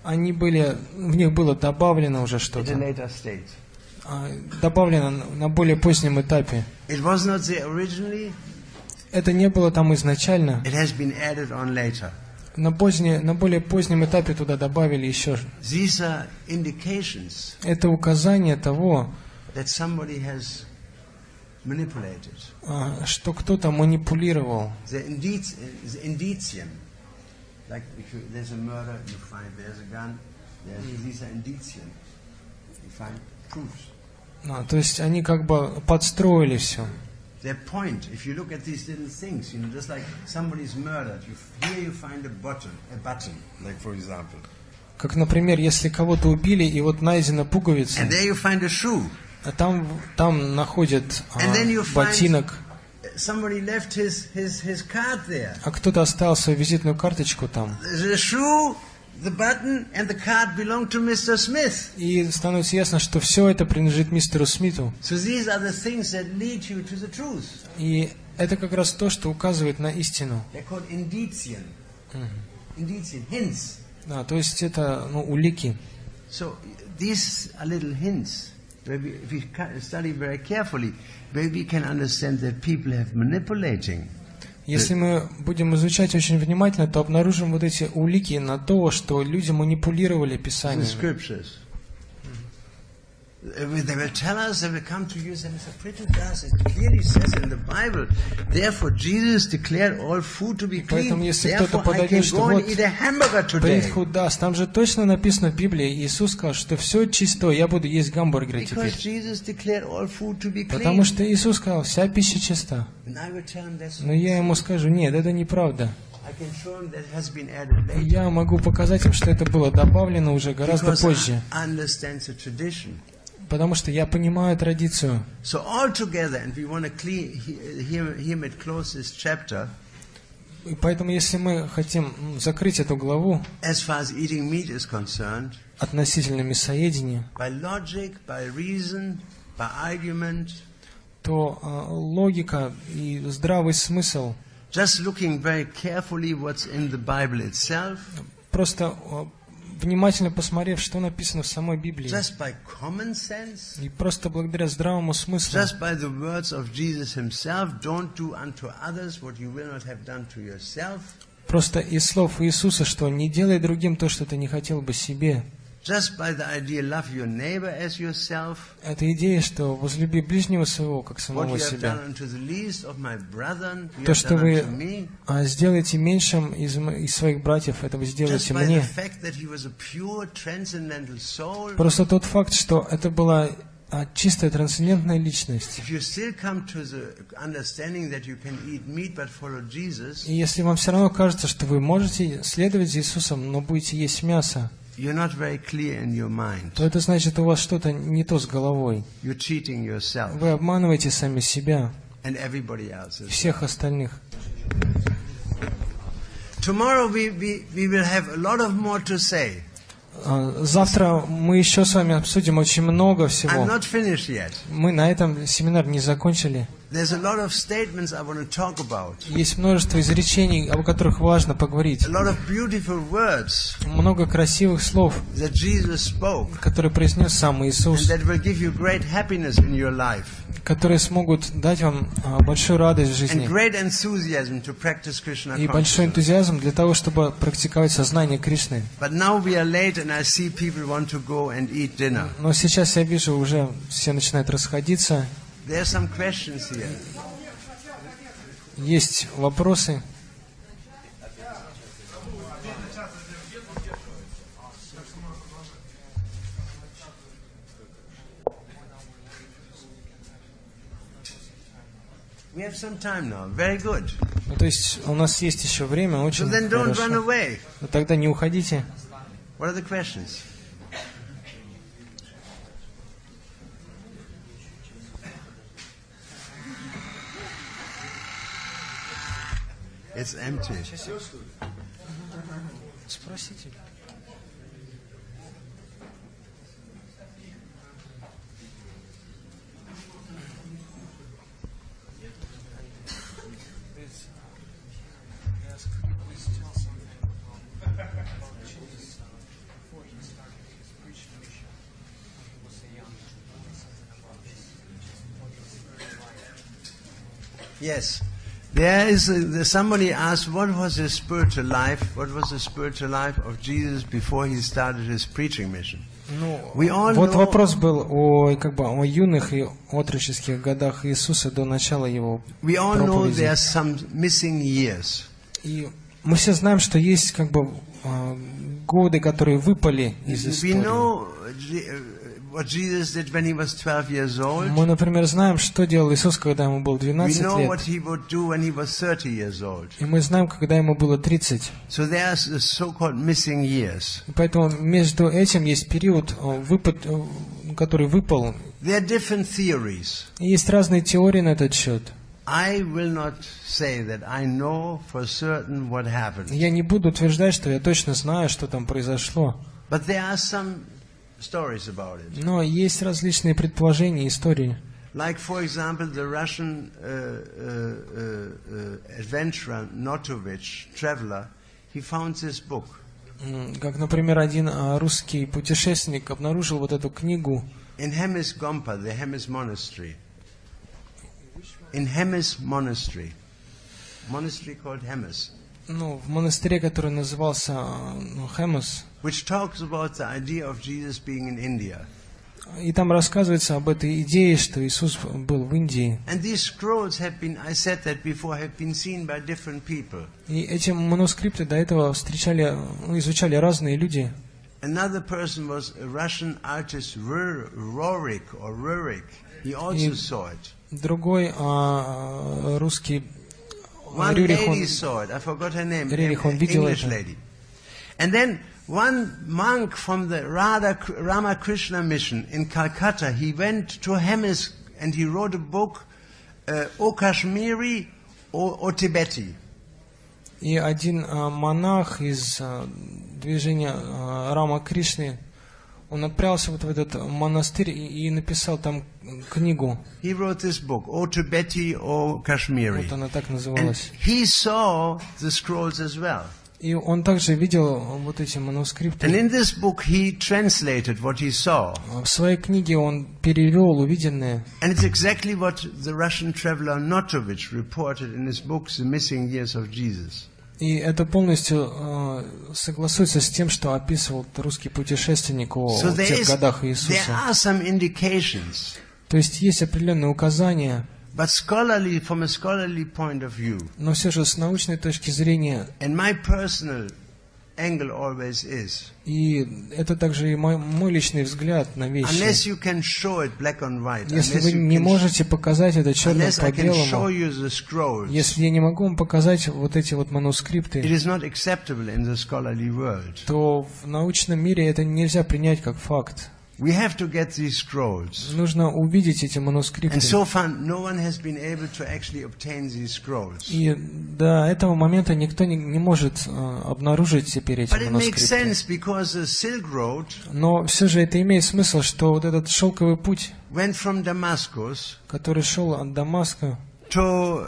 они были, в них было добавлено уже at a что-то, later stage. добавлено на более позднем этапе. It was not there originally, Это не было там изначально. it has been added on later. На более позднем этапе туда добавили еще. These are indications Это указание того, that somebody has manipulated. что кто-то манипулировал. The indicium. Like if there's a murder, you find there's a gun, these are indicium. You find proofs. То есть они как бы подстроили все. Their point, if you look at these little things, just like somebody's murdered, here you find a button, like for example. Как, например, если кого-то убили, и вот найдена пуговица, And there you find a shoe. а там находят And then you ботинок, somebody left his card there. а кто-то оставил свою визитную карточку там. The shoe, the button, and the card belong to Mr. Smith. И становится ясно, что все это принадлежит мистеру Смиту. So these are the things that lead you to the truth. И это как раз то, что указывает на истину. They're called indicium. Indicium, hints. То есть это улики. So these are little hints. Maybe if we study very carefully, maybe we can understand that people have manipulating. Если мы будем изучать очень внимательно, то обнаружим вот эти улики на то, что люди манипулировали The Писанием. scriptures. They will tell us, they will come to you and say, Mr. Pritchard does, it clearly says in the Bible, therefore Jesus declared all food to be clean, Поэтому если кто-то therefore I can подойдет, что go and вот eat a hamburger today. Притхуд даст, там же точно написано в Библии, Иисус сказал, что все чисто, я буду есть гамбургеры теперь. Because Jesus declared all food to be clean. Потому что Иисус сказал, вся пища чиста. And I will tell him that's Но я ему скажу, нет, это неправда. I can show him that it has been added later. Я могу показать им, что это было добавлено уже гораздо Because позже. I understand the tradition. Потому что я понимаю традицию. So all together, and we want to hear it close this chapter. И поэтому, если мы хотим закрыть эту главу As far as eating meat is concerned, относительно мясоедения, by logic, by reason, by argument, то логика и здравый смысл, just looking very carefully what's in the Bible itself, просто внимательно посмотрев, что написано в самой Библии, just by common sense, и просто благодаря здравому смыслу, just by the words of Jesus himself, don't do unto others what you will not have done to yourself, просто из слов Иисуса, что не делай другим то, что ты не хотел бы себе. just by the idea love your neighbor as yourself, Это идея, что возлюби ближнего своего, как what самого you have себя. done unto the least of my brethren, you То, have что done вы unto me. сделаете меньшим из своих братьев, это вы Just сделаете by the мне. fact that he was a pure transcendental soul, Просто тот факт, что это была чистая трансцендентная личность. if you still come to the understanding that you can eat meat but follow Jesus, И если вам все равно кажется, что вы можете следовать за Иисусом, но будете есть мясо, you're not very clear in your mind. то это значит, у вас что-то не то с головой. You're cheating yourself Вы обманываете сами себя and everybody else. и всех остальных. Tomorrow we will have a lot of more to say. Завтра мы еще с вами обсудим очень много I'm всего. not finished yet. Мы на этом семинар не закончили. There's a lot of statements I want to talk about. Есть множество изречений, о которых важно поговорить. A lot of beautiful words Много красивых слов, that Jesus spoke которые произнес сам and Иисус, that will give you great happiness in your life которые смогут дать вам большую радость в and жизни great enthusiasm to practice Krishna и большой consciousness. энтузиазм для того, чтобы практиковать сознание Кришны. But now we are late and I see people want to go and eat dinner. Но сейчас я вижу, уже все начинают расходиться. There are some questions here. Есть вопросы. We have some time now. Very good. То есть у нас есть еще время, So очень then don't run хорошо. away. Но тогда не уходите. What are the questions? It's empty. Спросите. Yes. There is somebody asked, what was the spiritual life? What was the spiritual life of Jesus before he started his preaching mission? We all Вот know, вопрос был о юных и отроческих годах Иисуса до начала его we all know проповеди. there are some missing years. И мы все знаем, что есть годы, которые выпали из We истории. know what Jesus did when he was 12 years old. Мы, например, знаем, что делал Иисус, когда ему было We 12 know лет. what he would do when he was 30 years old. И мы знаем, когда ему было 30. So there's the so-called missing years. И поэтому между этим есть период, который выпал. There are different theories. И есть разные теории на этот счет. I will not say that I know for certain what happened. Я не буду утверждать, что я точно знаю, что там произошло. But there are some stories about it. Но есть различные предположения и истории. Like, for example, the Russian adventurer Notovich, traveler, he found this book. Как, например, один русский путешественник обнаружил вот эту книгу In Hemis Gompa, the Hemis monastery. In Hemis monastery. Monastery called Hemis. в монастыре, который назывался Хемос. Which talks about the idea of Jesus being in India. И там рассказывается об этой идее, что Иисус был в Индии. And these scrolls have been, I said that before, have been seen by different people. И эти манускрипты до этого изучали разные люди. Another person was a Russian artist, Rurik. He also saw it. Другой русский One Рюрих, lady saw it. I forgot her name. Рюрих, он видел English это. lady. And then one monk from the Ramakrishna mission in Calcutta, he went to Hemis and he wrote a book, O Kashmiri or Tibeti. И один монах из движения Рама Кришны, он отправился вот в этот монастырь и написал там книгу. He wrote this book, O Tibeti or Kashmiri. Вот она так And называлась. he saw the scrolls as well. И он также видел вот эти And манускрипты. in this book he translated what he saw. В своей книге он перевел увиденное. And it's exactly what the Russian traveler Notovich reported in his book, The Missing Years of Jesus. И это полностью согласуется с тем, что описывал русский путешественник о So тех годах there Иисуса. are some indications, То есть есть определенные указания, but from a scholarly point of view, но все же с научной точки зрения, and my personal angle always is, и это также и мой личный взгляд на вещи. unless you can show it black on white, Если вы не можете показать это черным unless по I can show белому, you the scrolls, если я не могу вам показать вот эти вот it манускрипты, is not acceptable in the scholarly world. то в научном мире это нельзя принять как факт. We have to get these scrolls. Нужно увидеть эти манускрипты. And so far, no one has been able to actually obtain these scrolls. И до этого момента никто не может обнаружить теперь эти But it makes манускрипты. sense because the Silk Road Но все же это имеет смысл, что вот этот шелковый путь, went from Damascus который шел от Дамаска, to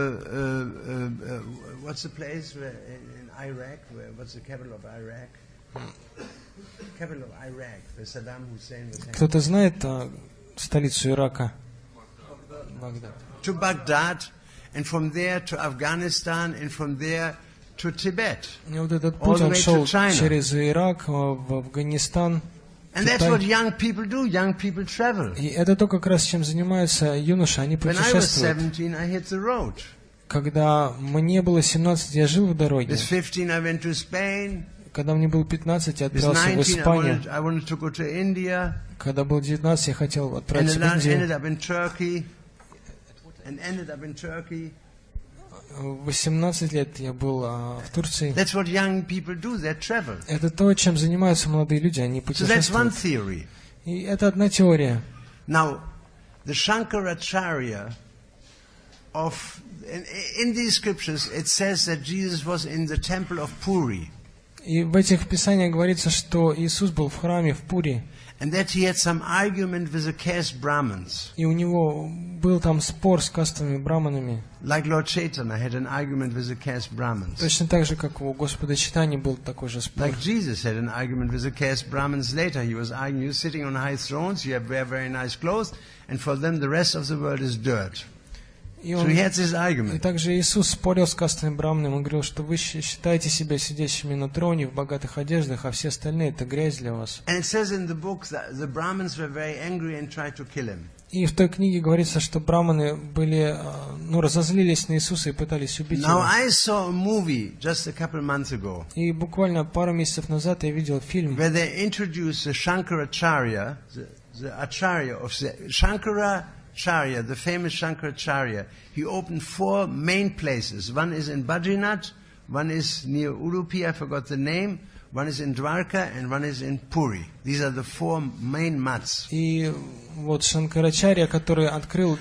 what's the place in Iraq? What's the capital of Iraq? Capital of Iraq, where Saddam Hussein was. кто-то знает столицу Ирака? Багдад. To Baghdad, and from there to Afghanistan, and from there to Tibet. И вот этот All путь, the он way to шел China. через Ирак, в Афганистан. And that's Китай. what young people do. Young people travel. И это то, как раз чем занимаются юноши, они When I was путешествуют. 17, I hit the road. Когда мне было 17, я жил в дороге. With 15, I went to Spain. Когда мне было 15, я With отправился в 19, Испанию. I wanted to go to India. Когда было 19, я хотел And отправиться в then Индию. ended up in Turkey. And ended up in Turkey. В 18 лет я был в Турции. That's what young people do. They travel. Это то, чем занимаются молодые люди, они So that's one путешествуют. theory. И это одна теория. Now, the Shankaracharya in these scriptures, it says that Jesus was in the temple of Puri. И в этих писаниях говорится, что Иисус был в храме в Пури, And that he had some argument with the caste Brahmins. и у него был там спор с кастовыми браманами. Like Lord Chaitanya had an argument with the caste Brahmins. Точно так же, как у Господа Чайтаньи был такой же спор. Like Jesus had an argument with the caste Brahmins later. He was arguing, you're sitting on high thrones, you wear very nice clothes, and for them the rest of the world is dirt. И So he had this И argument. также Иисус спорил с кастовым браманом, он говорил, что вы считаете себя сидящими на троне в богатых одеждах, а все остальные это грязь для вас. And it says in the book that the Brahmins were very angry and tried to kill him. И в той книге говорится, что браманы были, разозлились на Иисуса и пытались убить Now его. I saw a movie just a couple months ago И буквально пару месяцев назад я видел фильм, where they introduced the Shankaracharya, the Acharya of the Shankaracharya, the famous Shankaracharya. He opened 4 main places. One is in Badrinath, one is near Udupi, I forgot the name, one is in Dwarka, and one is in Puri. These are the 4 main mats. и вот Шанкарачарья, который открыл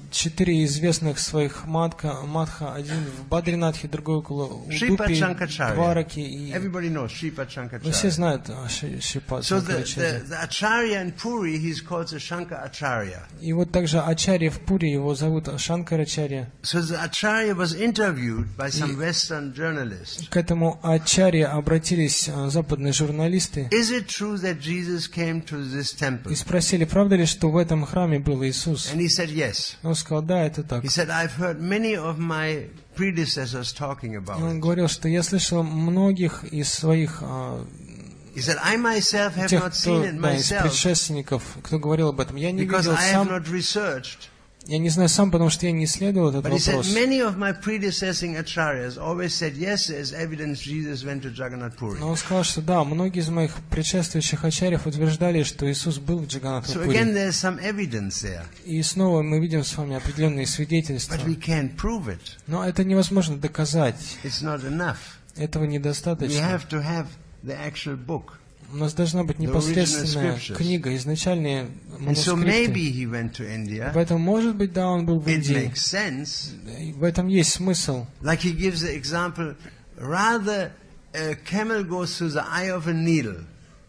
4 известных своих матха, один в Бадринатхе, другой около Shripad Удупи, Shankaracharya. Двараки. И Everybody knows Shripad вы все Shankaracharya. знают Шрипад So Шанкарачарья. the Acharya in Puri, he's called the Shankar Acharya. И вот также Ачарья в Пури, его зовут Шанкарачарья. So the Acharya was interviewed by some Western journalists. К этому Ачарье обратились западные журналисты Is it true that Jesus came to this temple? и спросили, правда ли, что в этом храме был Иисус? And he said yes. Он сказал, да, это так. He said, I've heard many of my predecessors talking И about он it. говорил, что я слышал многих из своих, He said, I myself have тех, not кто, seen it да, из myself предшественников, кто говорил об этом. Я не because видел I have сам, not researched. я не знаю сам, потому что я не исследовал этот But he said, вопрос. many of my predecessing acharyas always said, yes, there's evidence Jesus went to Jagannath Puri. Но он сказал, что да, многие из моих предшествующих ачарьев утверждали, что Иисус был в So again, Джаганнатхапури. there's some evidence there. И снова мы видим с вами определенные свидетельства. But we can't prove it. Но это невозможно доказать. It's not enough. Этого We недостаточно. have to have the actual book. У нас должна быть The непосредственная original scriptures. книга, изначальные And so манускрипты. maybe he went to India. Поэтому, может быть, да, он был в It Индии. makes sense. И в этом есть смысл. Like he gives the example, rather a camel goes through the eye of a needle.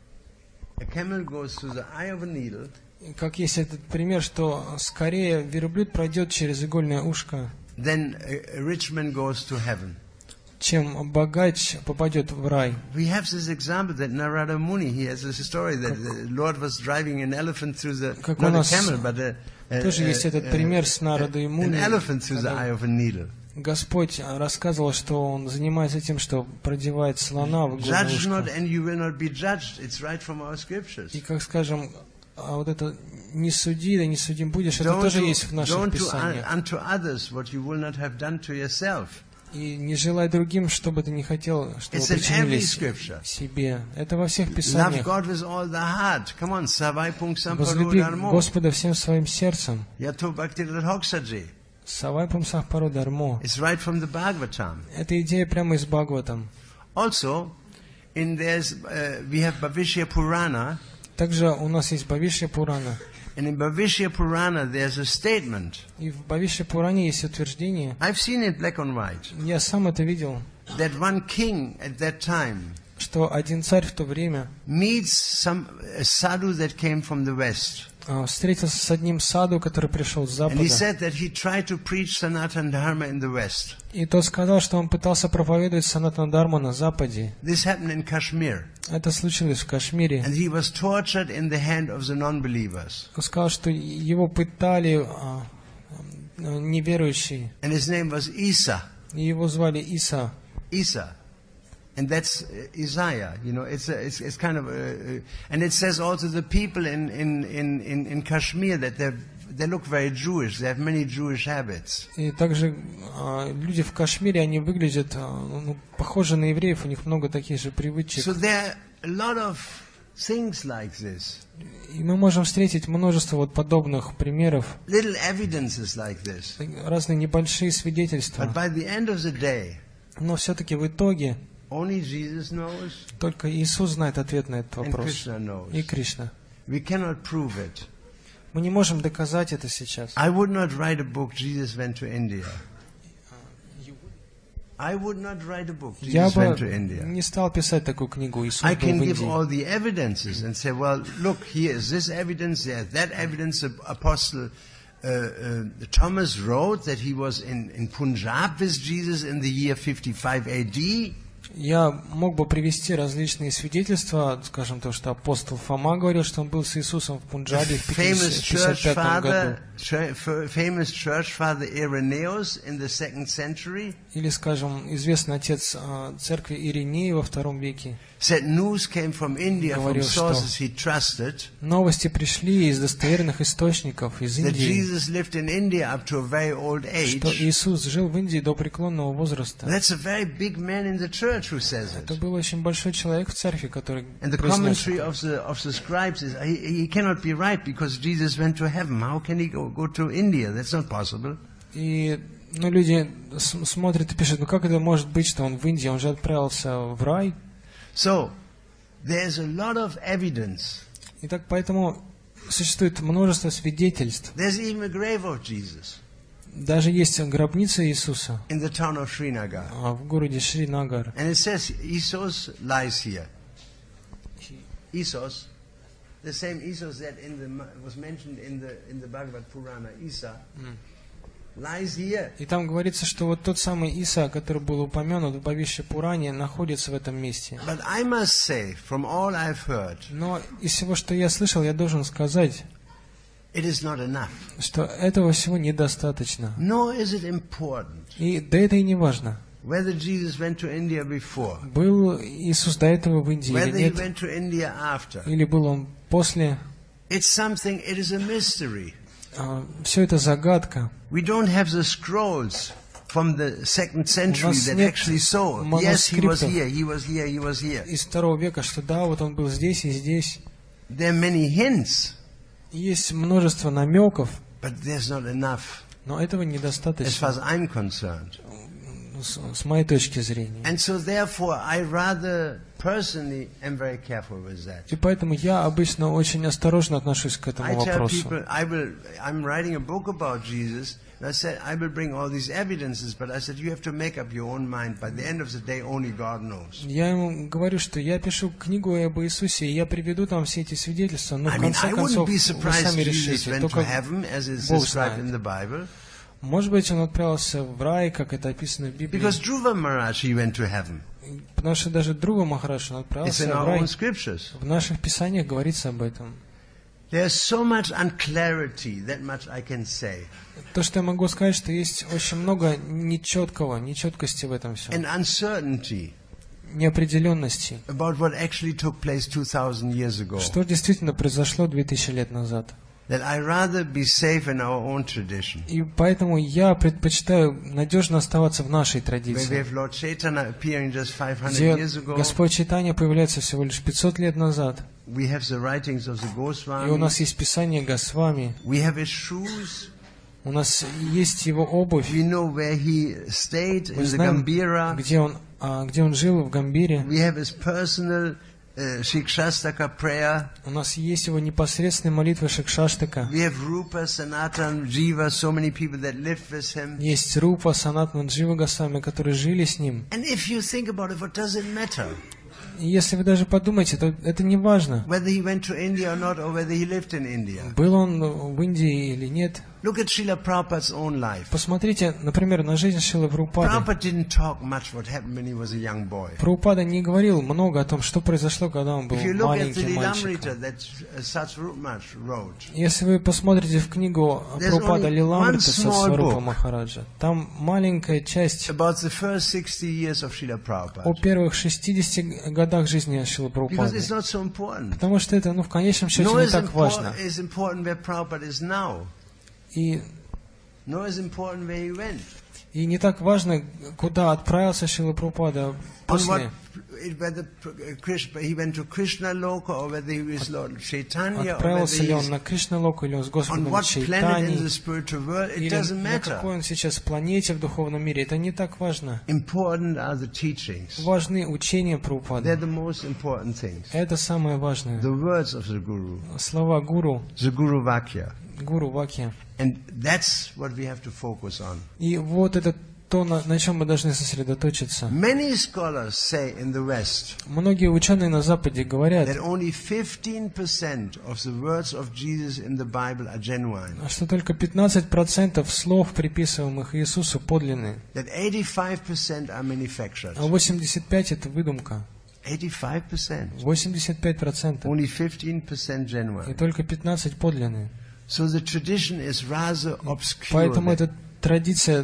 A camel goes through the eye of a needle Как есть этот пример, что скорее верблюд пройдет через игольное ушко, then a rich man goes to heaven. чем богач попадет в рай. We have this example that Narada Muni, he has this story that the Lord was driving an elephant through the, Как у not a нас camel, but тоже есть этот пример с Нарадой и an Муни. elephant through the eye of a needle. Господь рассказывал, что Он занимается тем, что продевает слона в игольное Judge not ушко. and you will not be judged. It's right from our scriptures. И как скажем, вот это «не суди, да не судим будешь», это Don't тоже do, есть в наших don't do писаниях. unto others what you will not have done to yourself. И не желай другим, что бы ты не хотел, чтобы It's in every причинились scripture. себе. Это во всех Love писаниях. God with all the heart. Come on, Savai Pungsam Возлюби Parudarmo. Господа всем своим сердцем. Yato Bhakti Radhoksaji. Савай пумсах паро дармо. It's right from the Bhagavatam. Это идея прямо из Бхагаватам. Also, we have Bhavishya Purana, Также у нас есть Бхавишья Пурана. and in Bhavishya Purana there's a statement. И в Бхавишья Пуране есть утверждение, I've seen it black and white, я сам это видел, that one king at that time что один царь в то время meets a sadhu that came from the west. встретился с одним саду, который пришел с And запада. he said that he tried to preach Sanatana Dharma in the west. И тот сказал, что он пытался проповедовать Санатана Дхарму на западе. This happened in Kashmir. Это случилось в Кашмире. And he was tortured in the hand of the non-believers. Он сказал, что его пытали неверующие. And his name was Isa. И его звали Иса. Isa. And that's Isaiah. You know, it's kind of, and it says also the people in Kashmir that they look very Jewish. They have many Jewish habits. И также люди в Кашмире, они выглядят похожи на евреев, у них много таких же привычек. So there are a lot of things like this. И мы можем встретить множество вот подобных примеров, Little evidences like this. разные небольшие свидетельства. But by the end of the day, Но все-таки в итоге only Jesus knows только Иисус знает ответ на этот and вопрос. Krishna knows. И Кришна. We cannot prove it. Мы не можем доказать это сейчас. I would not write a book, Jesus went to India. I would not write a book, Я Jesus бы went to India. не стал писать такую книгу «Иисус I был can в give all Индии». the evidences and say, well, look, here is this evidence, there is that evidence. The Apostle Thomas wrote that he was in Punjab with Jesus in the year 55 AD. Я мог бы привести различные свидетельства, скажем, то, что апостол Фома говорил, что он был с Иисусом в Пунджабе в 55 году. Famous church father Irenaeus in the 2nd century. Или, скажем, известный отец церкви Ириней во II веке. Said news came from India from Говорил, sources he trusted. Новости пришли из достоверных источников из That Индии, Jesus lived in India up to a very old что age. Иисус жил в Индии до преклонного возраста. That's a very big man in the church who says Это it. был очень большой человек в церкви, который And the произнес commentary это. of the scribes is he cannot be right because Jesus went to heaven. How can he go to India? That's not possible. И люди смотрят и пишут, ну как это может быть, что он в Индии, он же отправился в рай. So there's a lot of evidence. Итак, поэтому существует множество свидетельств. There's even a grave of Jesus Даже есть гробница Иисуса in the town of Srinagar. в городе Шринагар. And it says Esau lies here. Esau, the same Esau that was mentioned in the Bhagavad Purana, Isa, lies here. И там говорится, что вот тот самый Иса, который был упомянут в Бхавишья Пуране, находится в этом месте. But I must say, from all I've heard, Но из всего, что я слышал, я должен сказать, it is not enough. что этого всего недостаточно. Nor is it important И да это и не важно. whether Jesus went to India before, Был Иисус до этого в Индии или whether he нет, went to India after. или был он после. It's something, it is a mystery. Все это загадка. We don't have the scrolls from the 2nd century нас that нет actually saw. Yes, he was манускриптов here, he was here, he was here. из II века, что да, вот он был здесь и здесь. There are many hints, Есть множество намеков, but there's not enough но этого as far недостаточно as I'm concerned. с моей точки зрения. And so therefore I rather personally am very careful with that. И поэтому я обычно очень осторожно отношусь к I этому tell вопросу. people, I'm writing a book about Jesus, and I said, I will bring all these evidences, but I said, you have to make up your own mind. By the end of the day, only God knows. Я ему говорю, что я пишу книгу об Иисусе, и я приведу там все эти свидетельства, но I в mean, конце I wouldn't концов be вы surprised сами Jesus решите. went to Только heaven, as is Бог described in знает. the Bible. Может быть, он отправился в рай, как это описано в Библии. Because Dhruva Maharaj, he went to heaven. Потому что даже Друва Махарадж, он It's отправился in в our рай. own scriptures. В наших писаниях говорится об этом. There's so much unclarity, that much I can say. То, что я могу сказать, что есть очень много нечеткости в этом всем. And uncertainty Неопределенности. about what actually took place 2,000 years ago. Что действительно произошло 2000 лет назад. That I rather be safe in our own tradition. И поэтому я предпочитаю надежно оставаться в нашей Where we традиции, have Lord Chaitanya appearing just 500 где years ago. Господь Чайтанья появляется всего лишь 500 лет назад. We have the writings of the И у Goswamis. нас есть Писание Госвами, We have his shoes. у нас есть его обувь. We know where he stayed in Мы the знаем, Gambhira. где он жил в Гамбире. We have his personal Shikshastaka prayer. У нас есть его непосредственная молитва Шикшаштака. We have Rupa, Sanatan, Jiva, so many people that lived with him. Есть Рупа, Санатман, Джива Госвами, которые жили с ним. And if you think about it, what does it matter? И если вы даже подумаете, то это не важно, Whether he went to India or not, or whether he lived in India. был он в Индии или нет. Look at Srila Prabhupada's own life. Посмотрите, например, на жизнь Шрилы Прабхупады. Prabhupada didn't talk much what happened when he was a young boy. Прабхупада не говорил много о том, что произошло, когда он был If you look at the маленьким мальчиком. Lilamrita that Satsvarupmach wrote, Если вы посмотрите в книгу There's Прабхупада only Лиламрита one со small Сварупа book. Махараджа, там маленькая часть about the first 60 years of Srila о Prabhupada. первых 60 годах жизни Шрилы Because Прабхупады. it's not so important. Потому что это, в конечном счете, Nor не is так важно. important where Prabhupada is now. И Nor is important where he went. не так важно, куда отправился Шрила Прабхупада On после. whether he went to Krishna Loka or whether he was Lord Chaitanya or whether Отправился ли he он is на Кришна-локу или он с on Господом what planet in the Чайтани, spiritual world, it или doesn't на какой matter. он сейчас планете в духовном мире. Это не так важно. Important are the teachings. Важны учения They're Прабхупады. the most important things. Это самое важное. The words of the Guru, Слова Гуру, the Guru Vakya. Гуру Вакья. And that's what we have to focus on. И вот это то, на чем мы должны сосредоточиться. Many scholars say in the West Многие ученые на Западе говорят, that only 15% of the words of Jesus in the Bible are genuine. что только 15% слов, приписываемых Иисусу, подлинные, That 85% are manufactured. а 85% это выдумка. 85%. 85%. Only 15% И genuine. только 15% подлинные. So the tradition is rather obscure. Поэтому эта традиция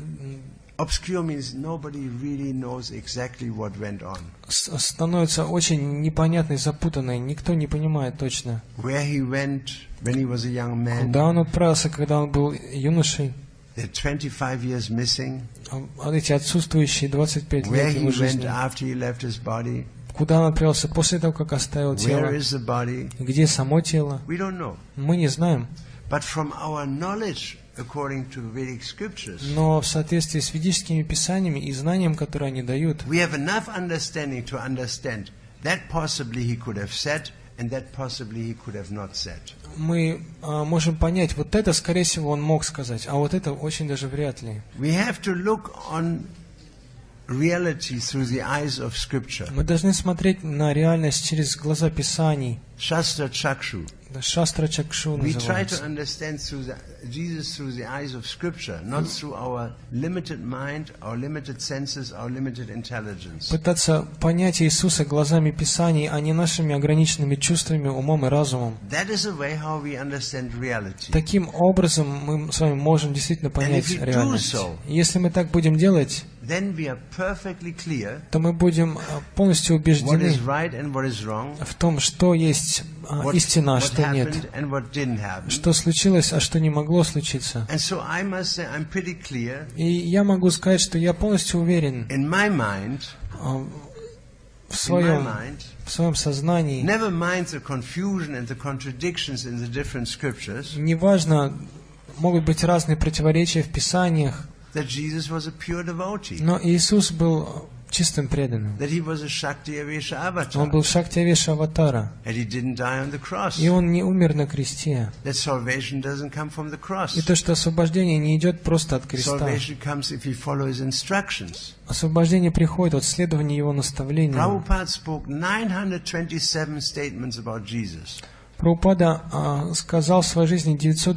Obscure means nobody really knows exactly what went on. становится очень непонятной, запутанной. Никто не понимает точно, Where he went when he was a young man. куда он отправился, когда он был юношей. There are 25 years missing. А эти отсутствующие 25 Where лет he его went жизни. after he left his body. Куда он отправился после того, как оставил тело. Where is the body? Где само тело? We don't know. Мы не знаем. But from our knowledge, according to Vedic scriptures, Но в соответствии с ведическими писаниями и знанием, которые они дают, we have enough understanding to understand that possibly he could have said and that possibly he could have not said. мы можем понять, вот это, скорее всего, он мог сказать, а вот это очень даже вряд ли. We have to look on reality through the eyes of scripture. Мы должны смотреть на реальность через глаза Писаний. Shastra Chakshu. Шастра Чакшу We try to называется. understand Jesus through the eyes of scripture, not through our limited mind, our limited senses, our limited intelligence. Пытаться понять Иисуса глазами Писаний, а не нашими ограниченными чувствами, умом и разумом. That is the way how we understand reality. Таким образом мы с вами можем действительно понять if we do реальность. so, Если мы так будем делать, Then we are perfectly clear то мы будем полностью what убеждены is right and what is wrong, в том, что есть истина, а what что нет. happened and what didn't happen. Что случилось, а что не могло случиться. And so I must say I'm pretty clear И я могу сказать, что я полностью уверен in my mind, в своем never сознании. mind the confusion and the contradictions in the different scriptures, Неважно, могут быть разные противоречия в Писаниях, that Jesus was a pure devotee, но Иисус был чистым преданным. that he was a Shakti Avesha Он avatar, был Шактиавеша Аватара. and he didn't die on the cross, И он не умер на кресте. that salvation doesn't come from the cross. И то, что освобождение не идет просто от креста. Salvation comes if we follow his instructions. Освобождение приходит от следования его наставлениям. Prabhupada spoke 927 statements about Jesus. Прабхупада сказал в своей жизни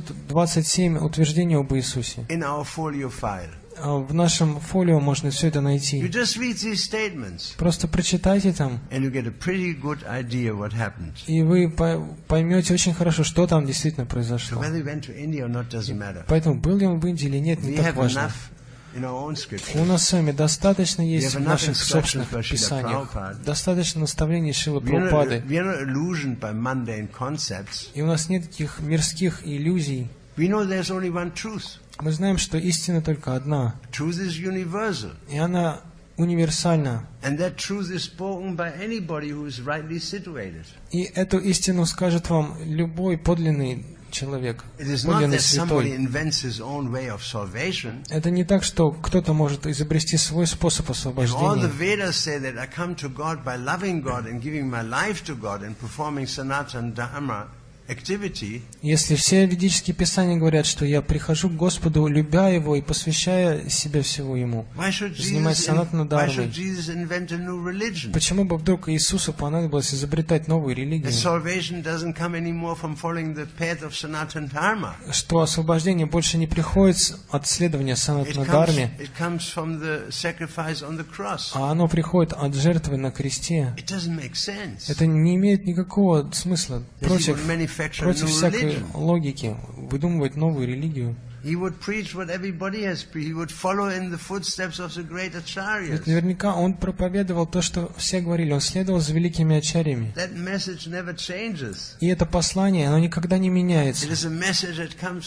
927 утверждений об Иисусе. In our folio file. В нашем фолио можно все это You найти. just read these statements Просто прочитайте там, and you get a pretty good idea what happened. и вы поймете очень хорошо, что там действительно So произошло. whether he went to India or not doesn't matter. Поэтому был ли он в Индии или нет, не We так have важно. enough in our own У scriptures. нас с вами достаточно есть have в enough наших instructions собственных by Srila писаниях, Prabhupada. достаточно наставлений Шрилы We are Прабхупады, not illusioned by mundane concepts. и у нас нет таких мирских иллюзий. We know there's only one truth. Мы знаем, что истина только одна, Truth is universal. и она универсальна. And that truth is spoken by anybody who is rightly situated. И эту истину скажет вам любой подлинный человек, It is not подлинный that somebody святой. invents his own way of salvation. Это не так, что кто-то может изобрести свой способ If all the освобождения. Vedas say that I come to God by loving God and giving my life to God and performing Sanatana Dharma activity, Если все ведические писания говорят, что я прихожу к Господу, любя Его и посвящая себя всего Ему, why should занимаясь санатана why дхармой, should Jesus invent a new religion? почему бы вдруг Иисусу понадобилось изобретать новую That религию? salvation doesn't come anymore from following the path of Sanatana Dharma. Что освобождение больше не приходит от следования санатана дхарме, It comes from the sacrifice on the cross. а оно приходит от жертвы на кресте. It doesn't make sense. Это не имеет никакого смысла That he против would manufacture a new всякой religion. логики выдумывать новую религию. He would preach what everybody has preached. He would follow in the footsteps of the great Ведь acharyas. наверняка он проповедовал то, что все говорили, он следовал за великими ачарьями. That message never changes. И это послание, оно никогда не меняется. It is a message that comes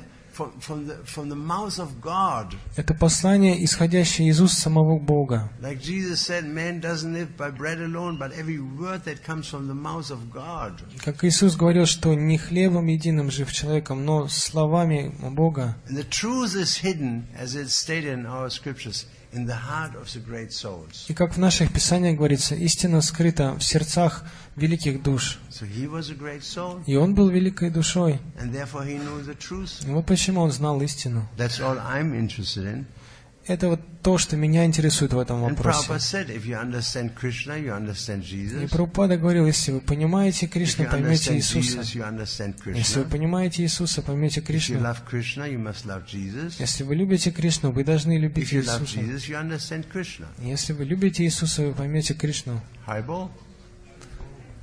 from the mouth of God. Это послание, исходящее из уст самого Бога. Like Jesus said, man doesn't live by bread alone, but every word that comes from the mouth of God. Как Иисус говорил, что не хлебом единым жив человеком, но словами Бога. And the truth is hidden, as it's stated in our scriptures, in the heart of the great souls. И как в наших писаниях говорится, истина скрыта в сердцах великих душ. So he was a great soul, И он был великой душой. and therefore he knew the truth. И вот почему он знал истину. That's all I'm interested in. это вот то, что меня интересует в этом And вопросе. Prabhupada said, if you understand Krishna, you understand И Jesus. Прабхупада говорил, если вы понимаете If Кришну, you поймете understand Иисуса. Jesus, you understand Если вы Krishna. понимаете Иисуса, поймете If you Кришну. love Krishna, you must love Jesus. Если вы любите Кришну, вы должны любить If you love Иисуса. Jesus, you understand Krishna. Если вы любите Иисуса, вы поймете Кришну. Haribol.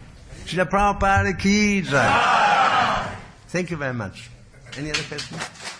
Srila Prabhupada ki jai. Thank you very much. Any other questions?